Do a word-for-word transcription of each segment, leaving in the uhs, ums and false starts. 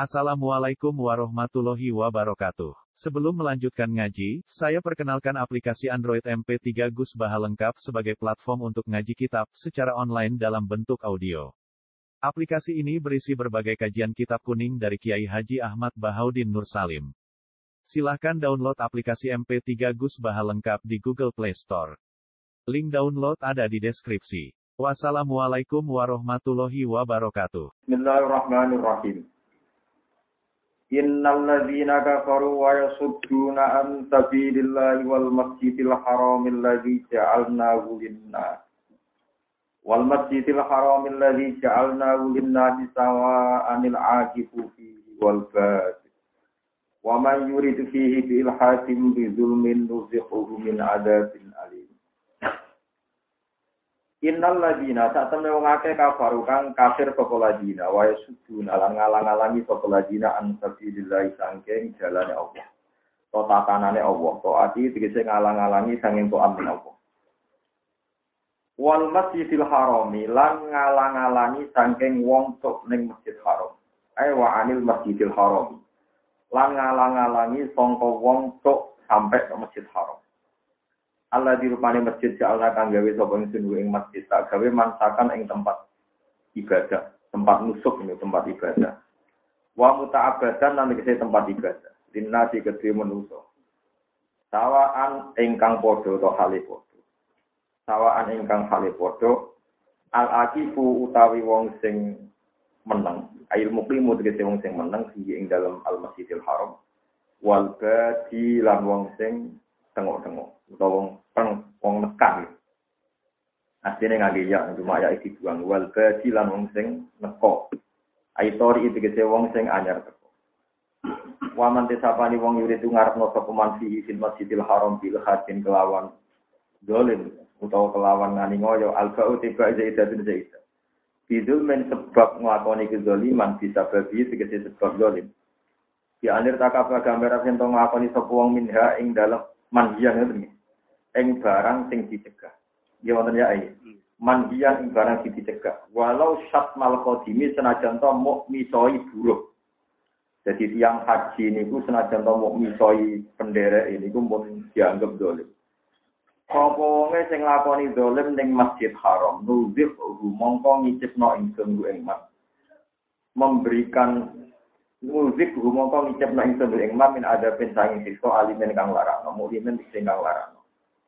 Assalamualaikum warahmatullahi wabarakatuh. Sebelum melanjutkan ngaji, saya perkenalkan aplikasi Android M P tiga Gus Baha lengkap sebagai platform untuk ngaji kitab secara online dalam bentuk audio. Aplikasi ini berisi berbagai kajian kitab kuning dari Kiai Haji Ahmad Bahaudin Nur Salim. Silahkan download aplikasi M P tiga Gus Baha lengkap di Google Play Store. Link download ada di deskripsi. Wassalamualaikum warahmatullahi wabarakatuh. Bismillahirrahmanirrahim. Innal ladzina kafaru wa yasudduna an sabilillahi wal masjidil haramil ladzi ja'alnahu lin-nas wal masjidil haramil ladzi ja'alnahu lin-nasi sawa'anil 'aqifu fihi wal bad wa man yurid fihi bi ilhadin bi zulmin nuzighuhu min 'adzabin alim. Innal ladzina satamne wong akeh kafaru kang kafir sapa ladina wa yasudun lan ngalang-alangi sapa ladina an sabilillah saking jalane Allah. To tatanane Allah, to ati tegese ngalang-alangi saking taat Allah. Wal masjidil harami lan ngalang-alangi saking wong tok ning Masjid Haram. Ai wa anil masjidil harami. Lan ngalang-alangi sangka wong tok sampai ke Masjid Haram. Allah dirupani masjid ja'alna kang gawe sapa ingsun ing masjid tak gawe mansakan ing tempat ibadah, tempat nusuk ini tempat ibadah. Wa muta'abbadan lan tegese tempat ibadah. Linnasi kedhe manusa. Sawaan ingkang padha to hale padha. Sawaan ingkang hale padha al-aqifu utawi wong sing meneng. Ail muqimu tegese wong sing meneng ing dalam al-Masjidil Haram. Wal badi lan wong sing tengok-tengok utawa wong peng wong nekak. Asline ngangge ya cuma ya iki dibuang wal badi lan wong sing neko. Aitori iki tegese wong sing anyar teko. Wa man tesapani wong yuridu ngarepno sapa man fi fil Masjidil Haram bil hadin kelawan dolim utawa kelawan ngani ngoyo al-ba'u tiba zaidatun zaidah. Bidul men sebab nglakoni kezaliman bisa babi tegese sebab dolim. Di anir takapa gambar yen to nglakoni sapa wong minha ing dalem manhiyan ngoten. Ing barang sing dicegah. Ya wonten ya iki. Manhiyan ing barang sing dicegah. Walau syat mal qadimi senajan to muk misoi buruk. Jadi tiang haji niku senajan to muk misoi penderek niku pun dianggap dolim. Apa wonge sing lakoni dolim ning Masjid Haram, nuzif mongko ngicipno ingsun ku ing mas. Memberikan muzik rumangka ngicipna ingsun ing man min ada pensanging siksa alimen kang larakno mukmin sing kang larakno.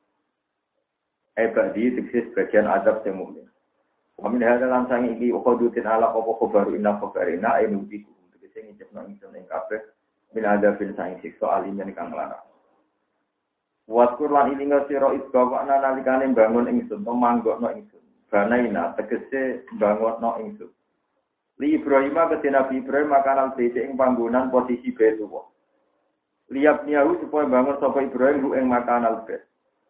Ebadi diksis bagian adab sing mukmin. Wa min hadza lan sang iki ukhudutin ala apa khabaru inna khabarina ainu biku diksis ngicipna ingsun ing kabeh min ada pensanging siksa alimen kang larakno. Waskur lan ilinga sira isbawana nalikane bangun ingsun memanggokno ingsun. Banaina tegese bangunno ingsun. Li Ibrahim ke Nabi Ibrahim makanan bait ing panggonan posisi Baitullah. Liap niyahu supaya bangun sapa Ibrahim lu ing makanan bait.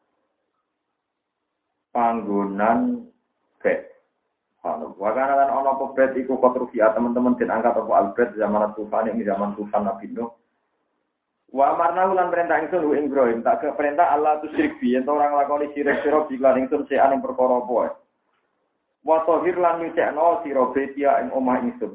Panggonan bait. Ana wakana lan ana apa bait iku konstruksi teman-teman den angkat apa albait zaman Tufan ing zaman Tufan Nabi Nuh. Wa amarna lan perintah ingsun lu ing Ibrahim tak ke perintah Allah tu syirik bi yen ora nglakoni syirik sira lan ingsun sean ing perkara apa. Wa tahir lan nyucekno sira betia ing omah ingsun.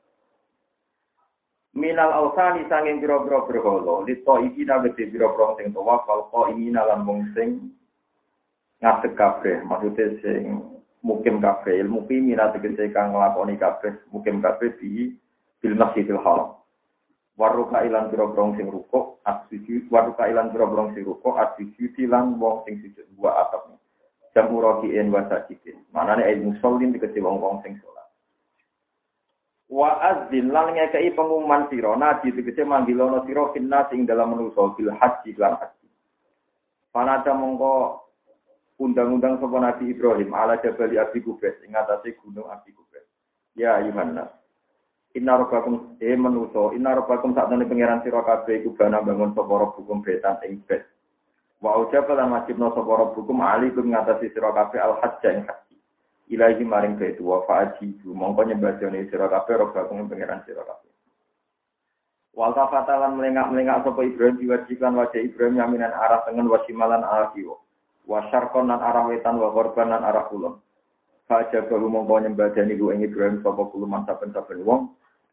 Minal ausani sanging pira-pira berhala, lito iki nabete pira-pira sing tawaf kal ini lan wong sing ngadeg kabeh, maksude sing mukim kabeh, ilmu pimina tegese kang nglakoni kabeh, mukim kabeh di bil Masjidil Haram. Waruka ilan pira-pira sing rukuk, asujud, waruka ilan pira-pira sing rukuk, asujud lan wong sing sujud wa atap. Jamu rokiin wa sajidin. Manane ilmu musallin dikece wong-wong sing salat. Wa azzin lan ngekeki pengumuman sira nabi dikece manggilono sira finnas ing dalam manusa bil haji lan haji. Panata mongko undang-undang sapa Nabi Ibrahim ala Jabal Abi Qubais ing atase gunung Abi Qubais. Ya Yohanes. Inna rabbakum e manusa, inna rabbakum sakjane pangeran sira kabeh iku bana bangun sapa hukum betan ing bait. Wa ujaba lan wajibna sapa rabbukum alaikum ngatasi sira kabeh al-hajj ing haji. Ilahi maring baitu wa fa'ajibu mongko nyembadane sira kabeh rabbukum pangeran sira kabeh. Wal tafatalan melengak-melengak sapa Ibrahim diwajikan wajah Ibrahim yaminan arah tengen wasimalan arah kiwa. Wa syarqan lan arah wetan wa gharban lan arah kulon. Faja baru mongko nyembadani ku ing Ibrahim sapa kuluman saben-saben wong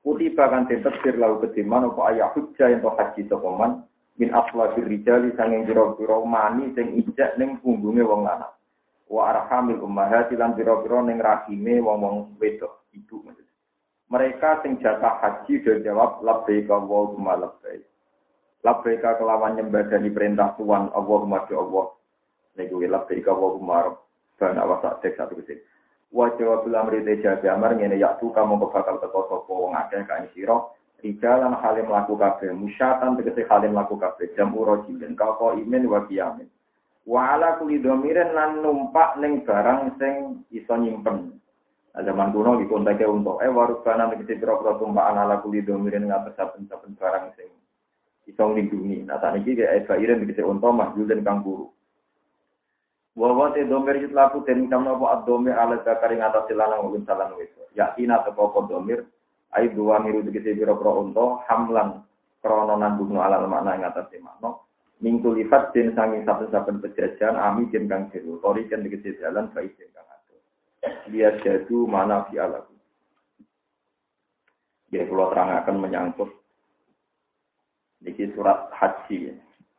Kutiba kan den tafsir lahu kediman apa ayah hujjah ento haji sapa man min aslafir rijali sanging pira-pira mani sing ijak ning punggunge wong lanang. Wa arhamil ummahati lan pira-pira ning rahime wong-wong wedok ibu maksud. Mereka sing jatah haji do jawab labbaik Allahumma labbaik. Labbaik kelawan nyembadani perintah Tuhan Allahumma bi Allah. Niku labbaik Allahumma rabbana wa sa'dik satu kesih. Wa jawab lamri tejabe amar ngene yaktu kamu bakal teko sapa wong akeh kae sira rijalan halim laku kabeh musyatan tegese halim laku kabeh jam urojilin kau imin wa kiyamin wa ala kulli dhamirin lan numpak ning barang sing iso nyimpen zaman kuno iki konteke untuk eh warubana tegese pira-pira tumpakan ala kulli dhamirin ngates saben-saben barang sing iso nglindungi nah sakniki ge airin tegese unta mahjulin kang buru wa te domir yut laku den kamno apa domir ala zakari ngatasi lanang ulun salan wis yakina teko apa domir ai dua miru tegese pira-pira unta hamlan krana nandung ala makna ing ngatasi makna minggu lipat den sanging saben-saben pejajan ami den kang jero tori kan tegese jalan baik den kang ado dia jadu mana fi alaku ya kula terangaken menyangkut niki surat haji ya.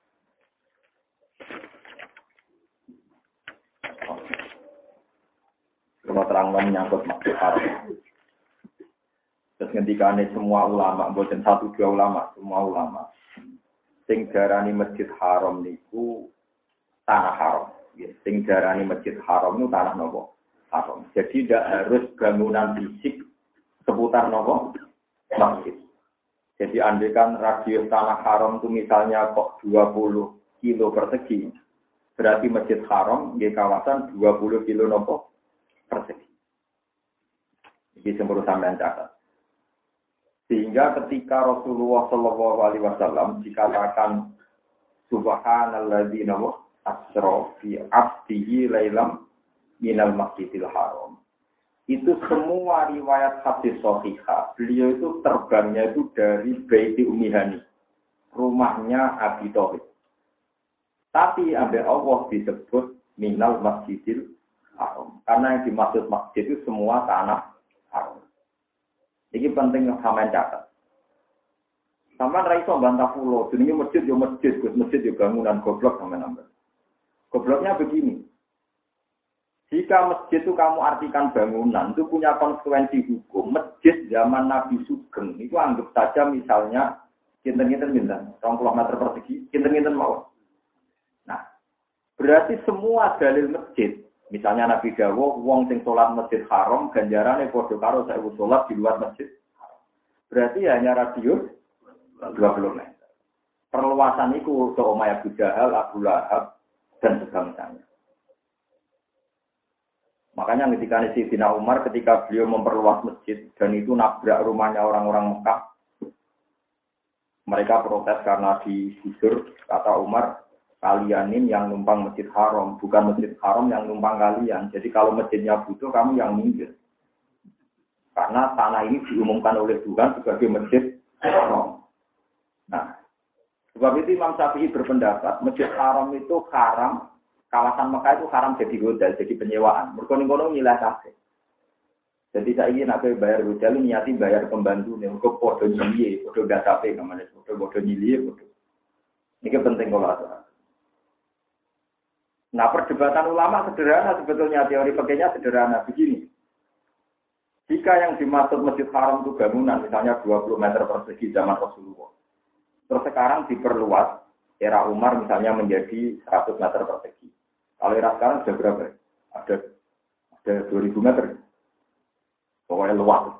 Kalau terang menyangkut maksud haram. Terus ngendikane semua ulama, bukan satu dua ulama, semua ulama. Sing darani masjid haram niku tanah haram. Sing darani masjid haram niku tanah nopo? Haram. Jadi tidak harus bangunan fisik seputar nopo? Masjid. Jadi andaikan radius tanah haram itu misalnya kok dua puluh kilo persegi, berarti masjid haram di kawasan dua puluh kilo nopo? Persegi. Ini semua sampean catat. Sehingga ketika Rasulullah Shallallahu Alaihi Wasallam dikatakan Subhanalladzi asra fi abdihi lailam minal masjidil haram. Itu semua riwayat hadis sahihah. Beliau itu terbangnya itu dari Baiti Ummi Hani, rumahnya Abi Thalib. Tapi ambil Allah disebut minal masjidil haram. Karena yang dimaksud masjid itu semua tanah haram. Ini penting sampean catat. Sampean ra iso bantah pulau, jenenge masjid yo masjid, Gus masjid yo bangunan goblok sampean nambah. Gobloknya begini. Jika masjid itu kamu artikan bangunan, itu punya konsekuensi hukum. Masjid zaman Nabi Sugeng, itu anggap saja misalnya kinten-kinten pinten, dua puluh meter persegi, kinten-kinten mawon. Nah, berarti semua dalil masjid misalnya Nabi Dawo, wong sing sholat masjid haram, ganjarane padha karo saewu sholat di luar masjid haram. Berarti hanya radius dua puluh meter. Perluasan itu ke Umay Abu Jahal, Abu Lahab, dan sebangsanya. Makanya ketika Sayyidina Umar, ketika beliau memperluas masjid, dan itu nabrak rumahnya orang-orang Mekah, mereka protes karena digusur, kata Umar, kalianin yang numpang masjid haram, bukan masjid haram yang numpang kalian. Jadi kalau masjidnya butuh, kamu yang minggir. Karena tanah ini diumumkan oleh Tuhan sebagai masjid haram. Nah, sebab itu Imam Syafi'i berpendapat, masjid haram itu haram, kawasan Mekah itu haram jadi hotel, jadi penyewaan. Mereka-mereka nilai kabeh. Jadi saya ingin nak bayar hotel, niati bayar pembantu, nih, mereka podo nyili, podo gak capek, namanya, podo podo nyili, podo. Ini penting kalau ada. Nah, perdebatan ulama sederhana sebetulnya, teori pakainya sederhana begini. Jika yang dimaksud masjid haram itu bangunan, misalnya dua puluh meter persegi zaman Rasulullah. Terus sekarang diperluas, era Umar misalnya menjadi seratus meter persegi. Kalau era sekarang sudah berapa? Ada ada dua ribu meter. Pokoknya luas.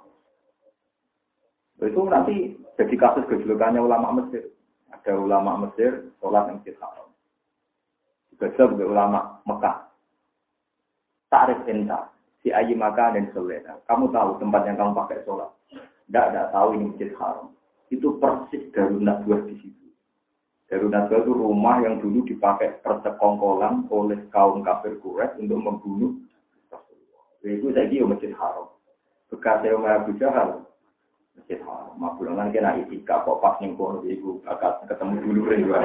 Itu nanti jadi kasus gejolakannya ulama Mesir. Ada ulama Mesir, sholat yang masjid haram. Juga juga ulama Mekah. Ta'rif enta, si ayi makan dan selera. Kamu tahu tempat yang kamu pakai sholat. Tidak, tidak tahu ini masjid haram. Itu persis Darun Nadwah di situ. Darun Nadwah itu rumah yang dulu dipakai persekongkolan oleh kaum kafir Quraisy untuk membunuh Rasulullah. Itu saya kira masjid haram. Bekas saya Umar Abu Jahal, masjid haram. Mabulangan kena itikaf kok pas ning kono iku bakal ketemu dulu juga.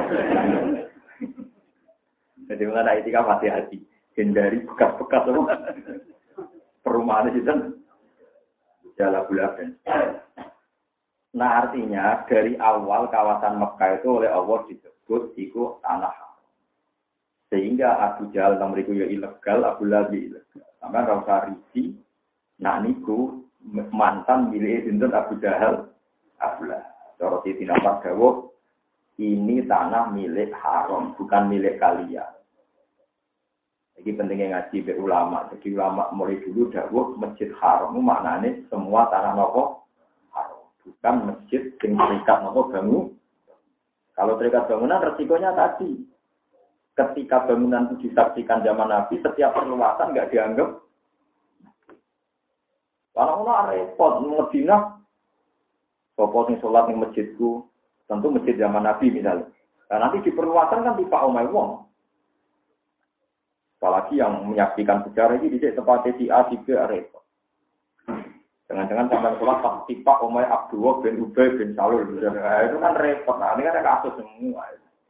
Jadi mengenai etika hati-hati, hindari bekas-bekas perumahan itu kan jalan bulakan. Nah artinya dari awal kawasan Mekah itu oleh Allah disebut itu tanah. Sehingga Abu Jahal nomoriku ya ilegal, Abu Lahab ilegal. Sama rasa risi, nak niku mantan milik sinten Abu Jahal, Abu Lahab. Cara Siti Nampak dawuh, ini tanah milik haram, bukan milik kalian. Jadi pentingnya ngaji be ulama. Jadi ulama mulai dulu dawuh masjid haram itu maknanya semua tanah nopo haram, bukan masjid yang terikat nopo bangun. Kalau terikat bangunan resikonya tadi, ketika bangunan itu disaksikan zaman Nabi, setiap perluasan nggak dianggap. Orang-orang repot Madinah, sopo sing sholat di masjidku, tentu masjid zaman Nabi misalnya. Nah, nanti di perluasan kan tipe omai wong. Apalagi yang menyaksikan sejarah ini di tempat si A, si B, repot. Jangan-jangan sampai sholat pas tipak omai Abdullah bin Ubay bin Salul. Nah, itu kan repot. Nah, ini kan ada kasus semua.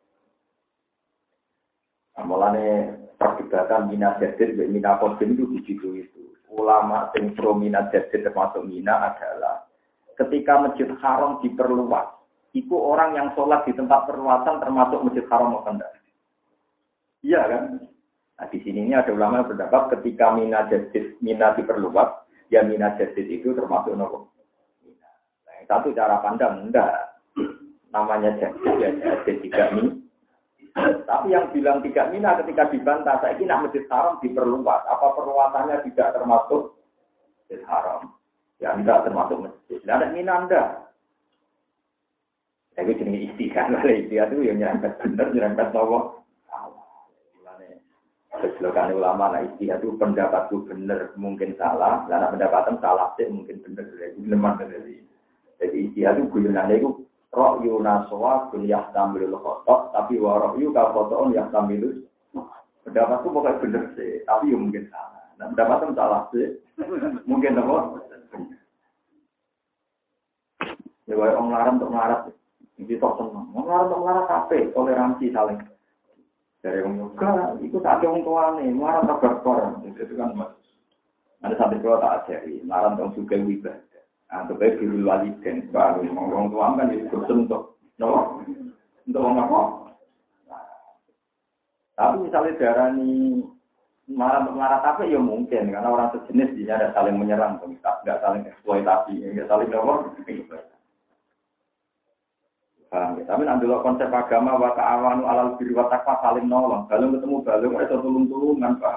Nah, mulanya perdebatan Mina Jadir dan Mina Qasim itu di situ itu. Ulama yang pro Mina Jadir termasuk Mina adalah ketika Masjid Haram diperluas, itu orang yang sholat di tempat perluasan termasuk Masjid Haram atau tidak? Iya kan? Nah, di sini ada ulama yang berpendapat ketika Mina Jadir, Mina diperluas, ya Mina Jadir itu termasuk nopo. Nah, satu cara pandang enggak. Namanya Jadir, ya Jadir tidak Mina. Tapi yang bilang tidak Mina ketika dibantah, saya ini Masjid Haram diperluas. Apa perluasannya tidak termasuk Masjid Haram? Ya tidak termasuk masjid. Tidak ada Mina enggak. Tapi jenis istiqah, istiqah itu yang nyerempet benar, nyerempet nopo. Keseluruhan ulama lah istilah itu pendapatku benar mungkin salah, karena pendapatan salah sih mungkin benar dari lemah dari. Jadi istilah itu guyonannya itu roh yunaswa kuliah sambil khotok, tapi waroh yu kalau khotoon yang sambil pendapatku pokoknya benar sih, tapi ya mungkin salah. Nah pendapatan salah sih, mungkin apa? Ya orang larang untuk melarat, ini tok seneng. Orang larang untuk melarat kafe, toleransi saling. Dari orang juga, itu tak ada orang tua nih, marah tak berkorban. Itu kan mas. Ada sampai kalau tak ajari, marah orang juga ibadah. Untuk baik diri waliden, baru orang tua kan itu bersentuh, no, untuk orang apa? Tapi misalnya darah ini marah marah tapi ya mungkin karena orang sejenis dia ada saling menyerang, tidak saling eksploitasi, tidak saling apa? Paham ya? Tapi nanti lo konsep agama wa ta'awanu alal birri wa taqwa saling nolong. Balung ketemu balung itu tulung-tulungan, Pak.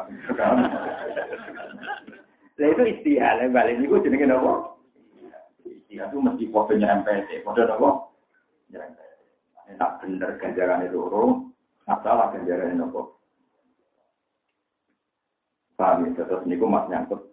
Lah itu istihad, balik niku jenenge napa? Istihad itu mesti kodenya M P T, kode napa? Jangan. Nek bener ganjarane loro, masalah ganjarane napa? Paham ya? Terus niku mas nyangkut.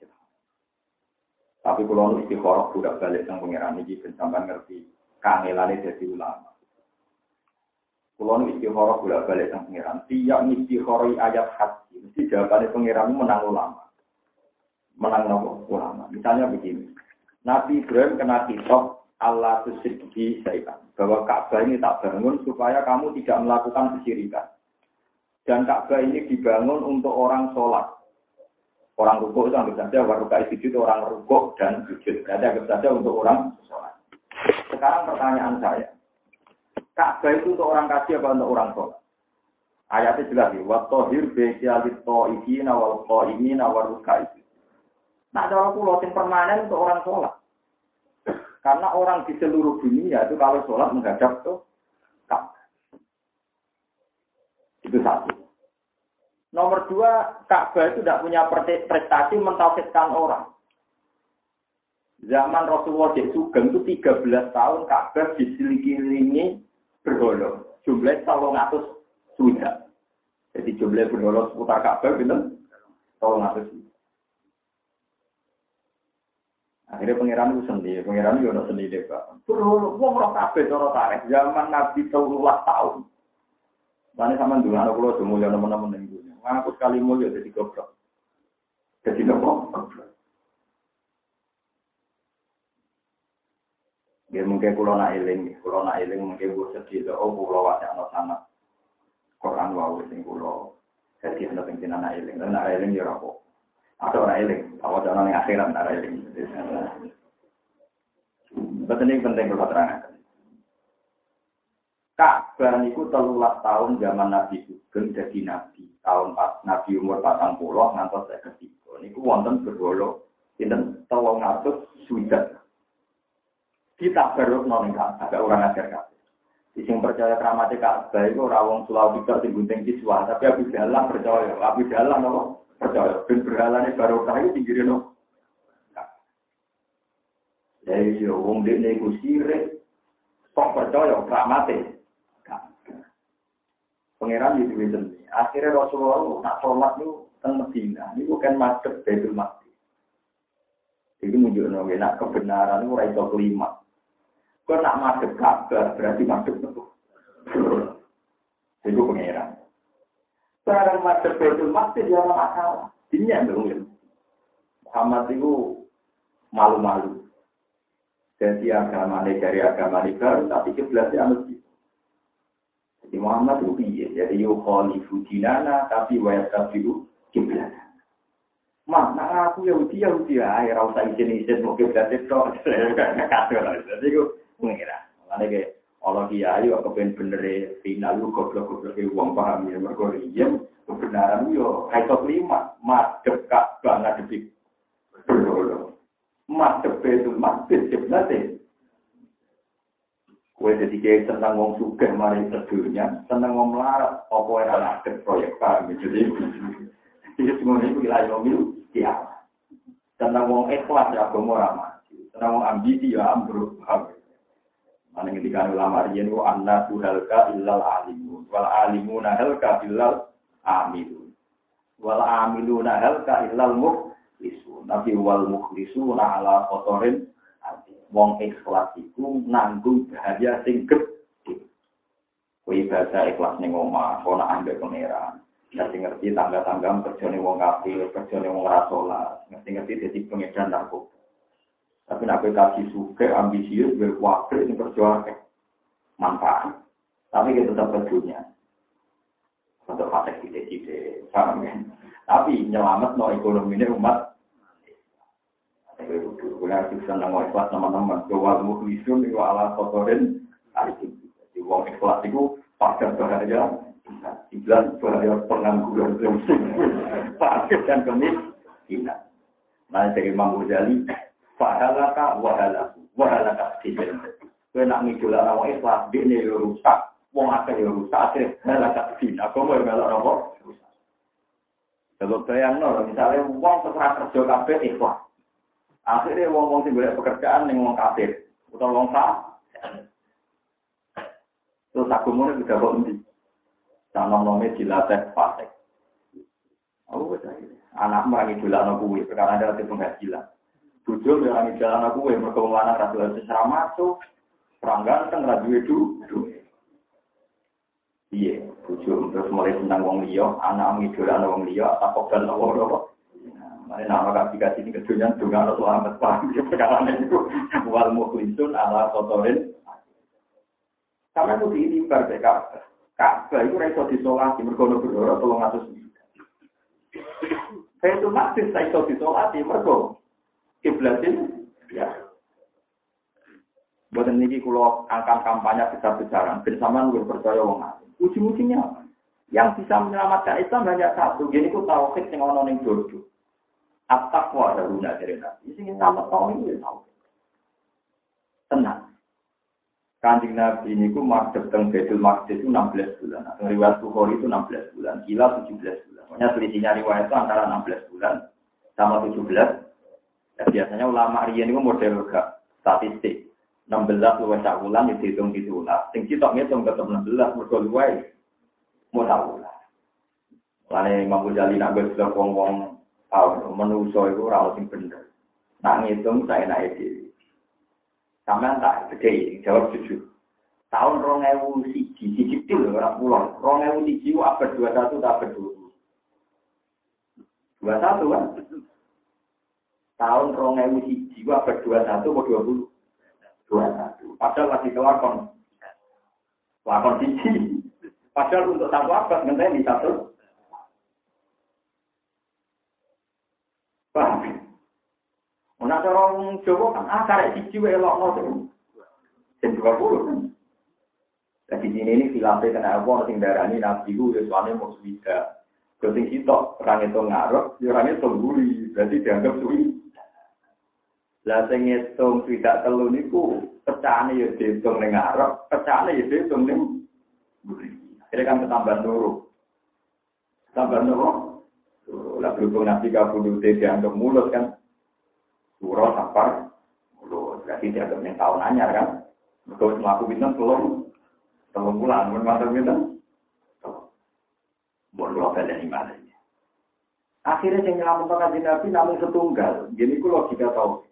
Tapi kalau nu istikharah budak balik sang pangeran iki ben sampean ngerti. Kangelane dadi ulama. Kulo nu istikharah bolak-balik sang pangeran. Tiap istikharah ayat haji, mesti jawabane pangeran menang ulama. Menang nopo ulama. Misalnya begini. Nabi Ibrahim kena kitab Allah tusyrik syaitan. Bahwa Ka'bah ini tak bangun supaya kamu tidak melakukan kesyirikan. Dan Ka'bah ini dibangun untuk orang sholat. Orang rukuk itu anggap saja waruka sujud orang rukuk dan sujud. Berarti anggap saja untuk orang sholat. Sekarang pertanyaan saya, Ka'bah itu untuk orang kafir apa untuk orang sholat? Ayatnya jelas ya, watohir besialit to'ifina wal to'imina wal rukai. Nah, ada orang pulau yang permanen untuk orang sholat. Karena orang di seluruh dunia itu kalau sholat menghadap ke Ka'bah. Itu satu. Nomor dua, Ka'bah itu tidak punya prestasi mentauhidkan orang. Zaman Rasulullah di Sugeng itu tiga belas tahun Ka'bah diselilingi berhala. Jumlah tolong atus sudah. Jadi jumlah berhala seputar Ka'bah betul tolong atus. Akhirnya pangeran itu sendiri, pangeran itu ada sendiri Pak. Berhala, wong roh Ka'bah cara tarik. Zaman Nabi tiga tahun. Mana sama dulu anak pulau semua yang teman-teman yang dulu. Ngaku sekali mulia jadi goblok. Jadi goblok. Dia mungkin kulo nak eling, kulo nak eling mungkin gue sedih tu. Oh kulo wajah anak sana. Quran wau sing kulo. Jadi anak pengen anak eling, dan anak eling dia rapok. Ada orang eling, awak orang yang akhirat anak eling. Betul ini penting kalau terangkan. Ka'bah niku telulas tahun zaman Nabi Sugeng jadi Nabi. Tahun pas Nabi umur patang puluh ngantos saya ketiga. Niku wonten berwolo. Sinten tolong ngatus sudah. Kita baru noleng Ka'bah. Agak orang ajar Ka'bah. Sing percaya keramatnya Ka'bah itu orang wong Sulawesi tidak sing gunting siswa. Tapi Abu Jalal percaya. Abu Jalal apa? Percaya. Ben berhalane baru kayu tinggirin no. Jadi wong dekne iku sirik. Kok percaya keramatnya? Pangeran itu itu. Akhirnya Rasulullah nak sholat itu teng Medina. Ini bukan madhep Baitul Maqdis. Itu menunjukkan nak kebenaran itu raiso kelima. Kau nak madhep Ka'bah berarti madhep itu. Itu pangeran. Sekarang madhep Baitul Maqdis dia ada masalah. Ini yang belum. Muhammad itu malu-malu. Jadi agama ini dari agama ini baru tapi kiblatnya masjid. Jadi Muhammad itu piye? Jadi yukhalifu dinana tapi wa yastabiu kiblat. Mak, nak aku Yahudi Yahudi ae ora usah izin-izin mau kiblat tok. Kacau lah. Jadi aku mengira. Mulane ke Allah kiai kok ben bener final lu goblok-goblok e wong paham ya mergo riyen kebenaran yo ayat lima madhep Ka'bah ngadepi. Madhep Baitul Maqdis kiblat. Kue jadi kayak senang ngomong sugih mari sedunia, senang ngomong melarat, apa yang ada proyek kami jadi, jadi semua ini wilayah ngomil, ya. Senang ngomong ikhlas ya, agama ramah. Senang ngomong ambisi ya, ambruk. Mana ketika ulama riyen itu anna tuhalka illal alimun, wal alimuna halka illal amilun, wal amiluna halka illal mukhlisun. Nabi wal mukhlisuna ala kotorin. Wong ikhlas iku nanggung bahaya sing gedhe. Kuwi bahasa ikhlas ning omah, ana ambek pangeran. Ngerti ngerti tangga-tangga kerjane wong kafir, kerjane wong ora salat, ngerti-ngerti dadi pengedar narkoba. Tapi nek kowe kasih suke ambisius berkuatir ning kerja manfaat. Tapi kita tetap berdunia. Untuk patek ide-ide, paham ya? Tapi nyelamat no ekonomi umat. Kalau kita senang ikhlas teman-teman, bahwa mukhlisun itu ala kotorin, di wong ikhlas itu pada bahaya, iblan bahaya pengangguran, fakir dan kemiskinan. Nah dari Imam Ghazali, fahalaka wahalaku, wahalaka tidak. Kau nak ngidolakan wong ikhlas, dia ni rusak, wong akan rusak, halaka tidak. Aku mau melok apa? Kalau bayang no, misalnya wong terserah kerja kabeh ikhlas. Akhirnya wong-wong sing golek pekerjaan ning wong kafir utawa wong sah. Terus aku mau nek kok endi? Tanam-nome dilatih fasik. Aku wis anak mrani dolano kuwi perkara ada penghasilan. Bojo yo ora jalan aku kuwi mergo wong lanang ra dolan sesra masuk. Peranggan teng ra duwe duwe. Iya, bojo terus mulai senang wong liya, anak ngidolano wong liya, tak kobal apa-apa. Ini nama kasih-kasih ini kedunya juga harus selamat paham. Perkara itu wal mukhlisun ala kotorin. Karena itu diibar ke Ka'bah. Ka'bah itu raiso disolati. Mergono berdoro tolong atus. Baitul Maqdis raiso disolati. Mergo kiblatin. Ya. Buat ini kalau angkat kampanye besar-besaran. Bersama lu percaya wong asing. Ujung-ujungnya yang bisa menyelamatkan Islam hanya satu. Jadi aku tauhid yang ono ning dodo. At-taqwa daruna dari Nabi. Ini sama tahun ini tahu. Tenang. Kanjeng Nabi ini ku madhep teng Baitul Maqdis itu enam belas bulan. Atau riwayat Bukhari itu enam belas bulan. Gila tujuh belas bulan. Pokoknya selisihnya riwayat itu antara enam belas bulan sama tujuh belas. Ya, biasanya ulama riyen itu model gak statistik. enam belas luwih sak wulan dihitung ditulah. Sing sitok ngitung tetep enam belas mergo luwih modal wulan. Lane Imam Ghazali nak wis wong-wong tahu manusia itu ora sing bener. Nak ngitung saya naik dhewe. Sampeyan tak gede jawab jujur. Tahun dua ribu satu, siji til ora pulang. dua ribu satu ku abad dua puluh satu tak abad dua puluh. dua puluh satu kan? Tahun dua ribu satu ku abad dua puluh satu atau dua puluh? dua puluh satu. Padahal lagi kelakon. Lakon siji. Padahal untuk satu abad ngenteni satu. Paham? Ana orang Jawa kan ah karek siji wae elokno terus. Jam dua puluh kan. Nah, di sini ini filmnya kena apa, sing darani nabi ku ya soalnya mau suwida. Kalau sing sitok, orang itu ngarep, ya orang itu guri, berarti dianggap suwi. Lah sing ngitung swidak telu niku pecahane ya diitung ning ngarep, pecahane ya diitung ning guri. Akhirnya kan ketambahan loro. Tambah loro. Lah berhubung nabi kabudut dianggap mulut kan. Surah safar mulut, berarti dianggap ning tahun anyar kan. Mergo mlaku pinten telung telung bulan, mun matur pinten? Bon lo pada iman. Akhirnya yang nyelamatkan kanjeng Nabi namun setunggal. Gini ku logika tau.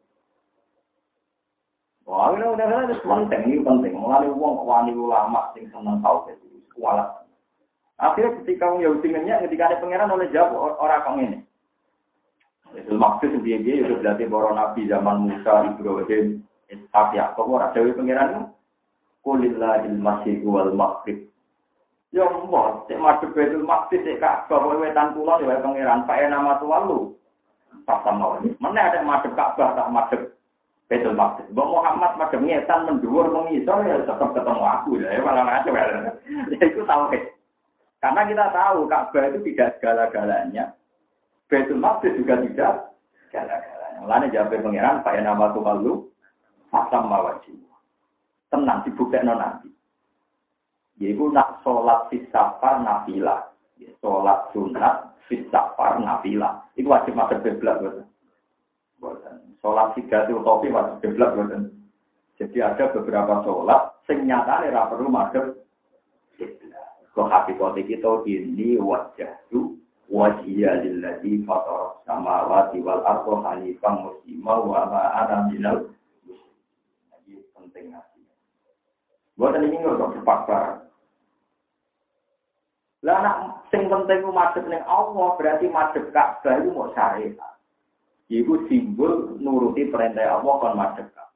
Wah, ini udah ada penting, ini penting. Mulai uang wani ulama sing seneng tau itu kualat. Akhirnya ketika wong Yahudi ngenyak, ketika ada pangeran oleh jawab orang kang ini. Itu maksud dia-dia itu berarti para nabi zaman Musa, Ibrahim, Ishak, Yakub, ora dawuh pangeran Qulillahil masyiq wal maghrib. Ya mbok, cek madhep Baitul Maqdis cek Ka'bah kowe wetan kulon ya pangeran Pak nama tuwalu. Pas sama ini. Mana ada madhep Ka'bah tak madhep Baitul Maqdis. Mbok Muhammad madhep ngetan mendhuwur mengisor ya tetap ketemu aku ya malah ngaco ya. Ya itu tauhid. Karena kita tahu Ka'bah itu tidak segala-galanya. Baitul Maqdis juga tidak segala-galanya. Mulane jawab pangeran Pak nama tuwalu sama wajib. Tenang dibuktekno nanti. Yaitu nak sholat sifar nafilah, sholat sunat sifar nafilah. Itu wajib masuk kiblat, bukan? Sholat tiga topi wajib kiblat, bukan? Jadi ada beberapa sholat, sing nyatane ra perlu masuk kiblat. Kok hakikate kita ini wajah tu wajhiya lillazi fatara samawati wal arda hanifan muslima wa ma ana minal musyrikin. Ini penting nasi. Buatan ini nggak terpaksa. Lah nak sing penting ku madhep ning Allah berarti madhep Ka'bah iku mau syariat. Iku simbol nuruti perintah Allah kon madhep Ka'bah.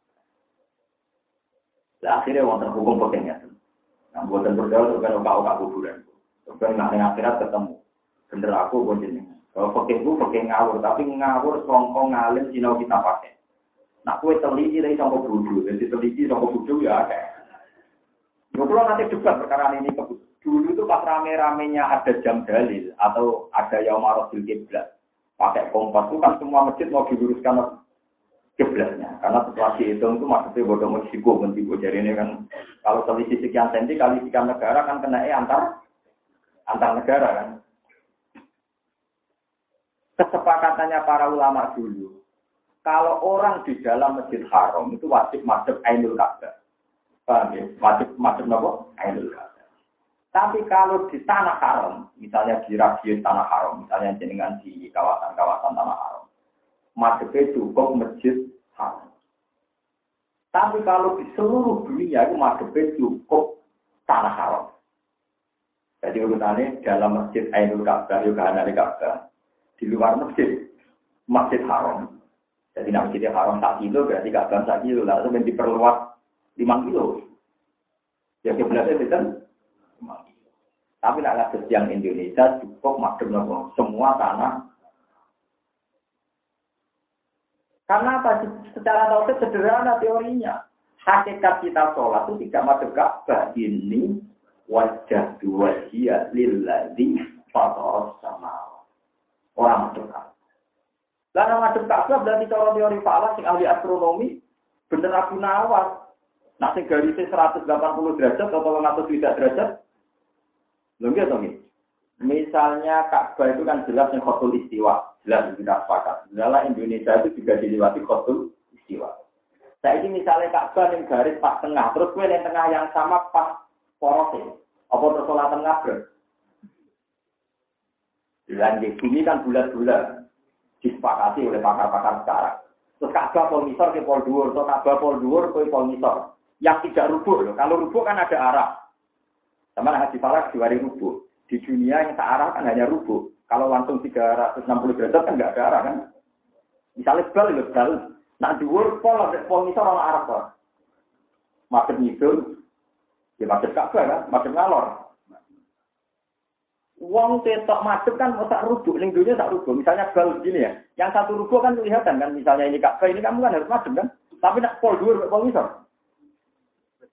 Lah akhirnya wonten hukum pentingnya. Nah, buatan berdoa kan kau kuburan. Kan nak ning akhirat ketemu. Bener aku kok jenengan. Kalau pekehku pekeh ngawur tapi ngawur songko ngalim sinau kita pakai. Nak kowe teliti dari sangko bodho, jadi teliti sangko bodho ya akeh. Yo kula nanti debat perkara ini ke dulu itu pas rame-ramenya ada jam dalil atau ada yaumarul kiblat. Pakai kompas itu kan semua masjid mau diluruskan kiblatnya. Karena setelah dihitung itu maksudnya bodoh Meksiko mentigo. Jadi ini kan kalau selisih sekian senti kali sekian negara kan kena eh antar antar negara kan. Kesepakatannya para ulama dulu. Kalau orang di dalam Masjid Haram itu wajib madhep Ainul Ka'bah. Paham ya? Wajib madhep napa? Ainul Ka'bah. Tapi kalau di tanah haram, misalnya di radius tanah haram, misalnya jenengan di kawasan-kawasan tanah haram, madhepnya cukup Masjid Haram. Tapi kalau di seluruh dunia itu madhepnya cukup tanah haram. Jadi urutannya dalam Masjid Ainul Ka'bah, juga ada Ka'bah. Di luar masjid, Masjid Haram. Jadi Masjid Haram satu kilo, berarti Ka'bah satu kilo. Lalu yang diperluas lima kilo. Ya kiblatnya itu kan lima kilo. Tapi nak ada yang Indonesia cukup madhep nopo semua tanah. Karena apa? Secara tauhid sederhana teorinya. Hakikat kita sholat itu tidak madhep Ka'bah. Ini wajah dua dia lillazi fatara samawati. Orang madhep Ka'bah. Lah madhep Ka'bah berarti cara teori falak sing ahli astronomi bener Abu Nawas. Nah, sing garisnya seratus delapan puluh derajat atau seratus tidak derajat. Lho nggih to nggih. Misalnya Ka'bah itu kan jelas yang khotul istiwa, jelas tidak sepakat. Dalam Indonesia itu juga dilewati khotul istiwa. Saya ini misalnya Ka'bah yang garis pas tengah, terus gue yang tengah yang sama pas porosnya. Apa terus sholat tengah ber? Dan di bumi kan bulat-bulat disepakati oleh pakar-pakar sekarang. Terus Ka'bah pol misor ke pol dhuwur, atau Ka'bah pol dhuwur ke pol misor. Yang tidak rubuh loh. Kalau rubuh kan ada arah. Sama haji falak diwari rubuh. Di dunia yang searah kan hanya rubuh. Kalau langsung tiga ratus enam puluh derajat kan nggak ada arah kan. Misalnya bal ya bal. Nah dhuwur pol pol misor ana arah kok. Madhep ngidul. Ya madhep Ka'bah kan, madhep ngalor. Wong ketok madhep kan sak rubuh, ning dunya sak rubuh. Misalnya bal begini ya. Yang satu rubuh kan kelihatan kan, misalnya ini Ka'bah ini kamu kan harus madhep kan. Tapi nak pol dhuwur pol misor.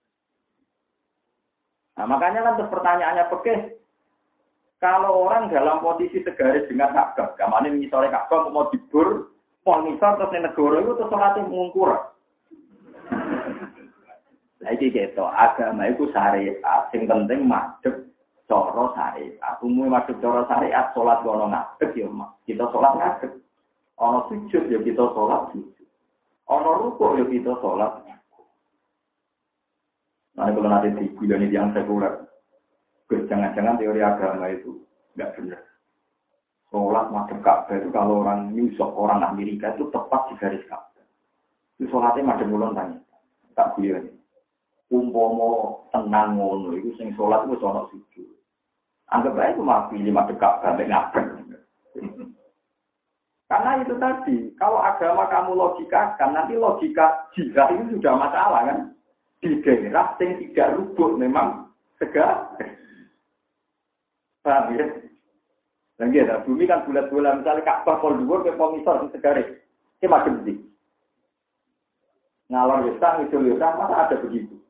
Nah, makanya kan terus pertanyaannya fikih, kalau orang dalam posisi segaris dengan Ka'bah, gamane ngisore Ka'bah mau dibur, mau ngisor terus ning negara itu terus salate mungkur. Lah iki gitu, agama iku syariat, sing penting madhep cara syariat. Umume madhep cara syariat, salat ono ngadeg ya, kita salat ngadeg. Ono sujud ya kita salat sujud. Ono rukuk ya kita salat. Nah, kalau nanti diguyoni yang sekuler, jangan-jangan teori agama itu nggak benar. Sholat madhep Ka'bah itu kalau orang New York, orang Amerika itu tepat di garis Ka'bah. Itu sholatnya madhep mulon tanya, tak guyoni. Umpomo tenang ngono, itu sing sholat itu sholat sujud. Anggap aja itu mah pilih madhep Ka'bah, nggak Karena itu tadi, kalau agama kamu logikakan, nanti logika jihad itu sudah masalah kan? Di daerah yang tidak rubuh memang tegak. Paham ya? Dan gitu, bumi kan bulat-bulat, misalnya Ka'bah pol dhuwur ke pengisor di segaris. Ini macam ini. Ngalor yusah, ngidul yusah, masa ada begitu?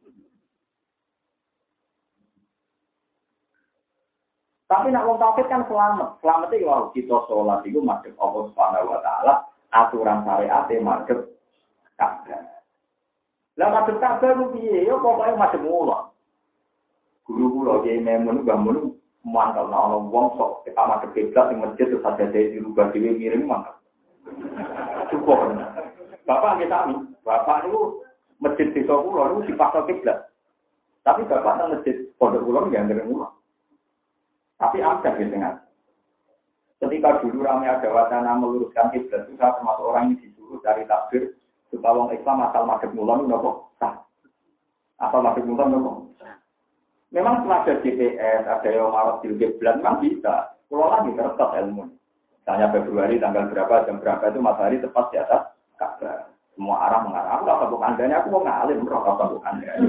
Tapi nak wong tauhid kan selamat. Selamat itu kalau kita sholat itu madhep Allah Subhanahu wa taala, aturan syariat madhep Ka'bah. Lah madhep Ka'bah ku piye? Ya pokoke madhep mula. Guru kula Kyai Memun bangun mantap ana wong sok kita madhep kiblat ing masjid terus ada dirubah dhewe miring mantap. Cukup. Bapak nggih sami. Bapak niku masjid desa kula niku dipaksa kiblat. Tapi bapak nang masjid pondok kula nggih ndere mula. Tapi ada di tengah. Ketika dulu ramai ada wacana meluruskan kiblat itu saya termasuk orang yang disuruh dari takbir supaya orang Islam asal madhep mulon nopo sah. Asal madhep mulon nopo. Memang setelah ada G P S, ada yang marah di kiblat, memang bisa. Kalau lagi terletak ilmu. Misalnya Februari tanggal berapa, jam berapa itu matahari tepat di atas Ka'bah. Semua arah mengarah. Aku tak tahu andanya, aku mau ngalim, aku tak tahu andanya.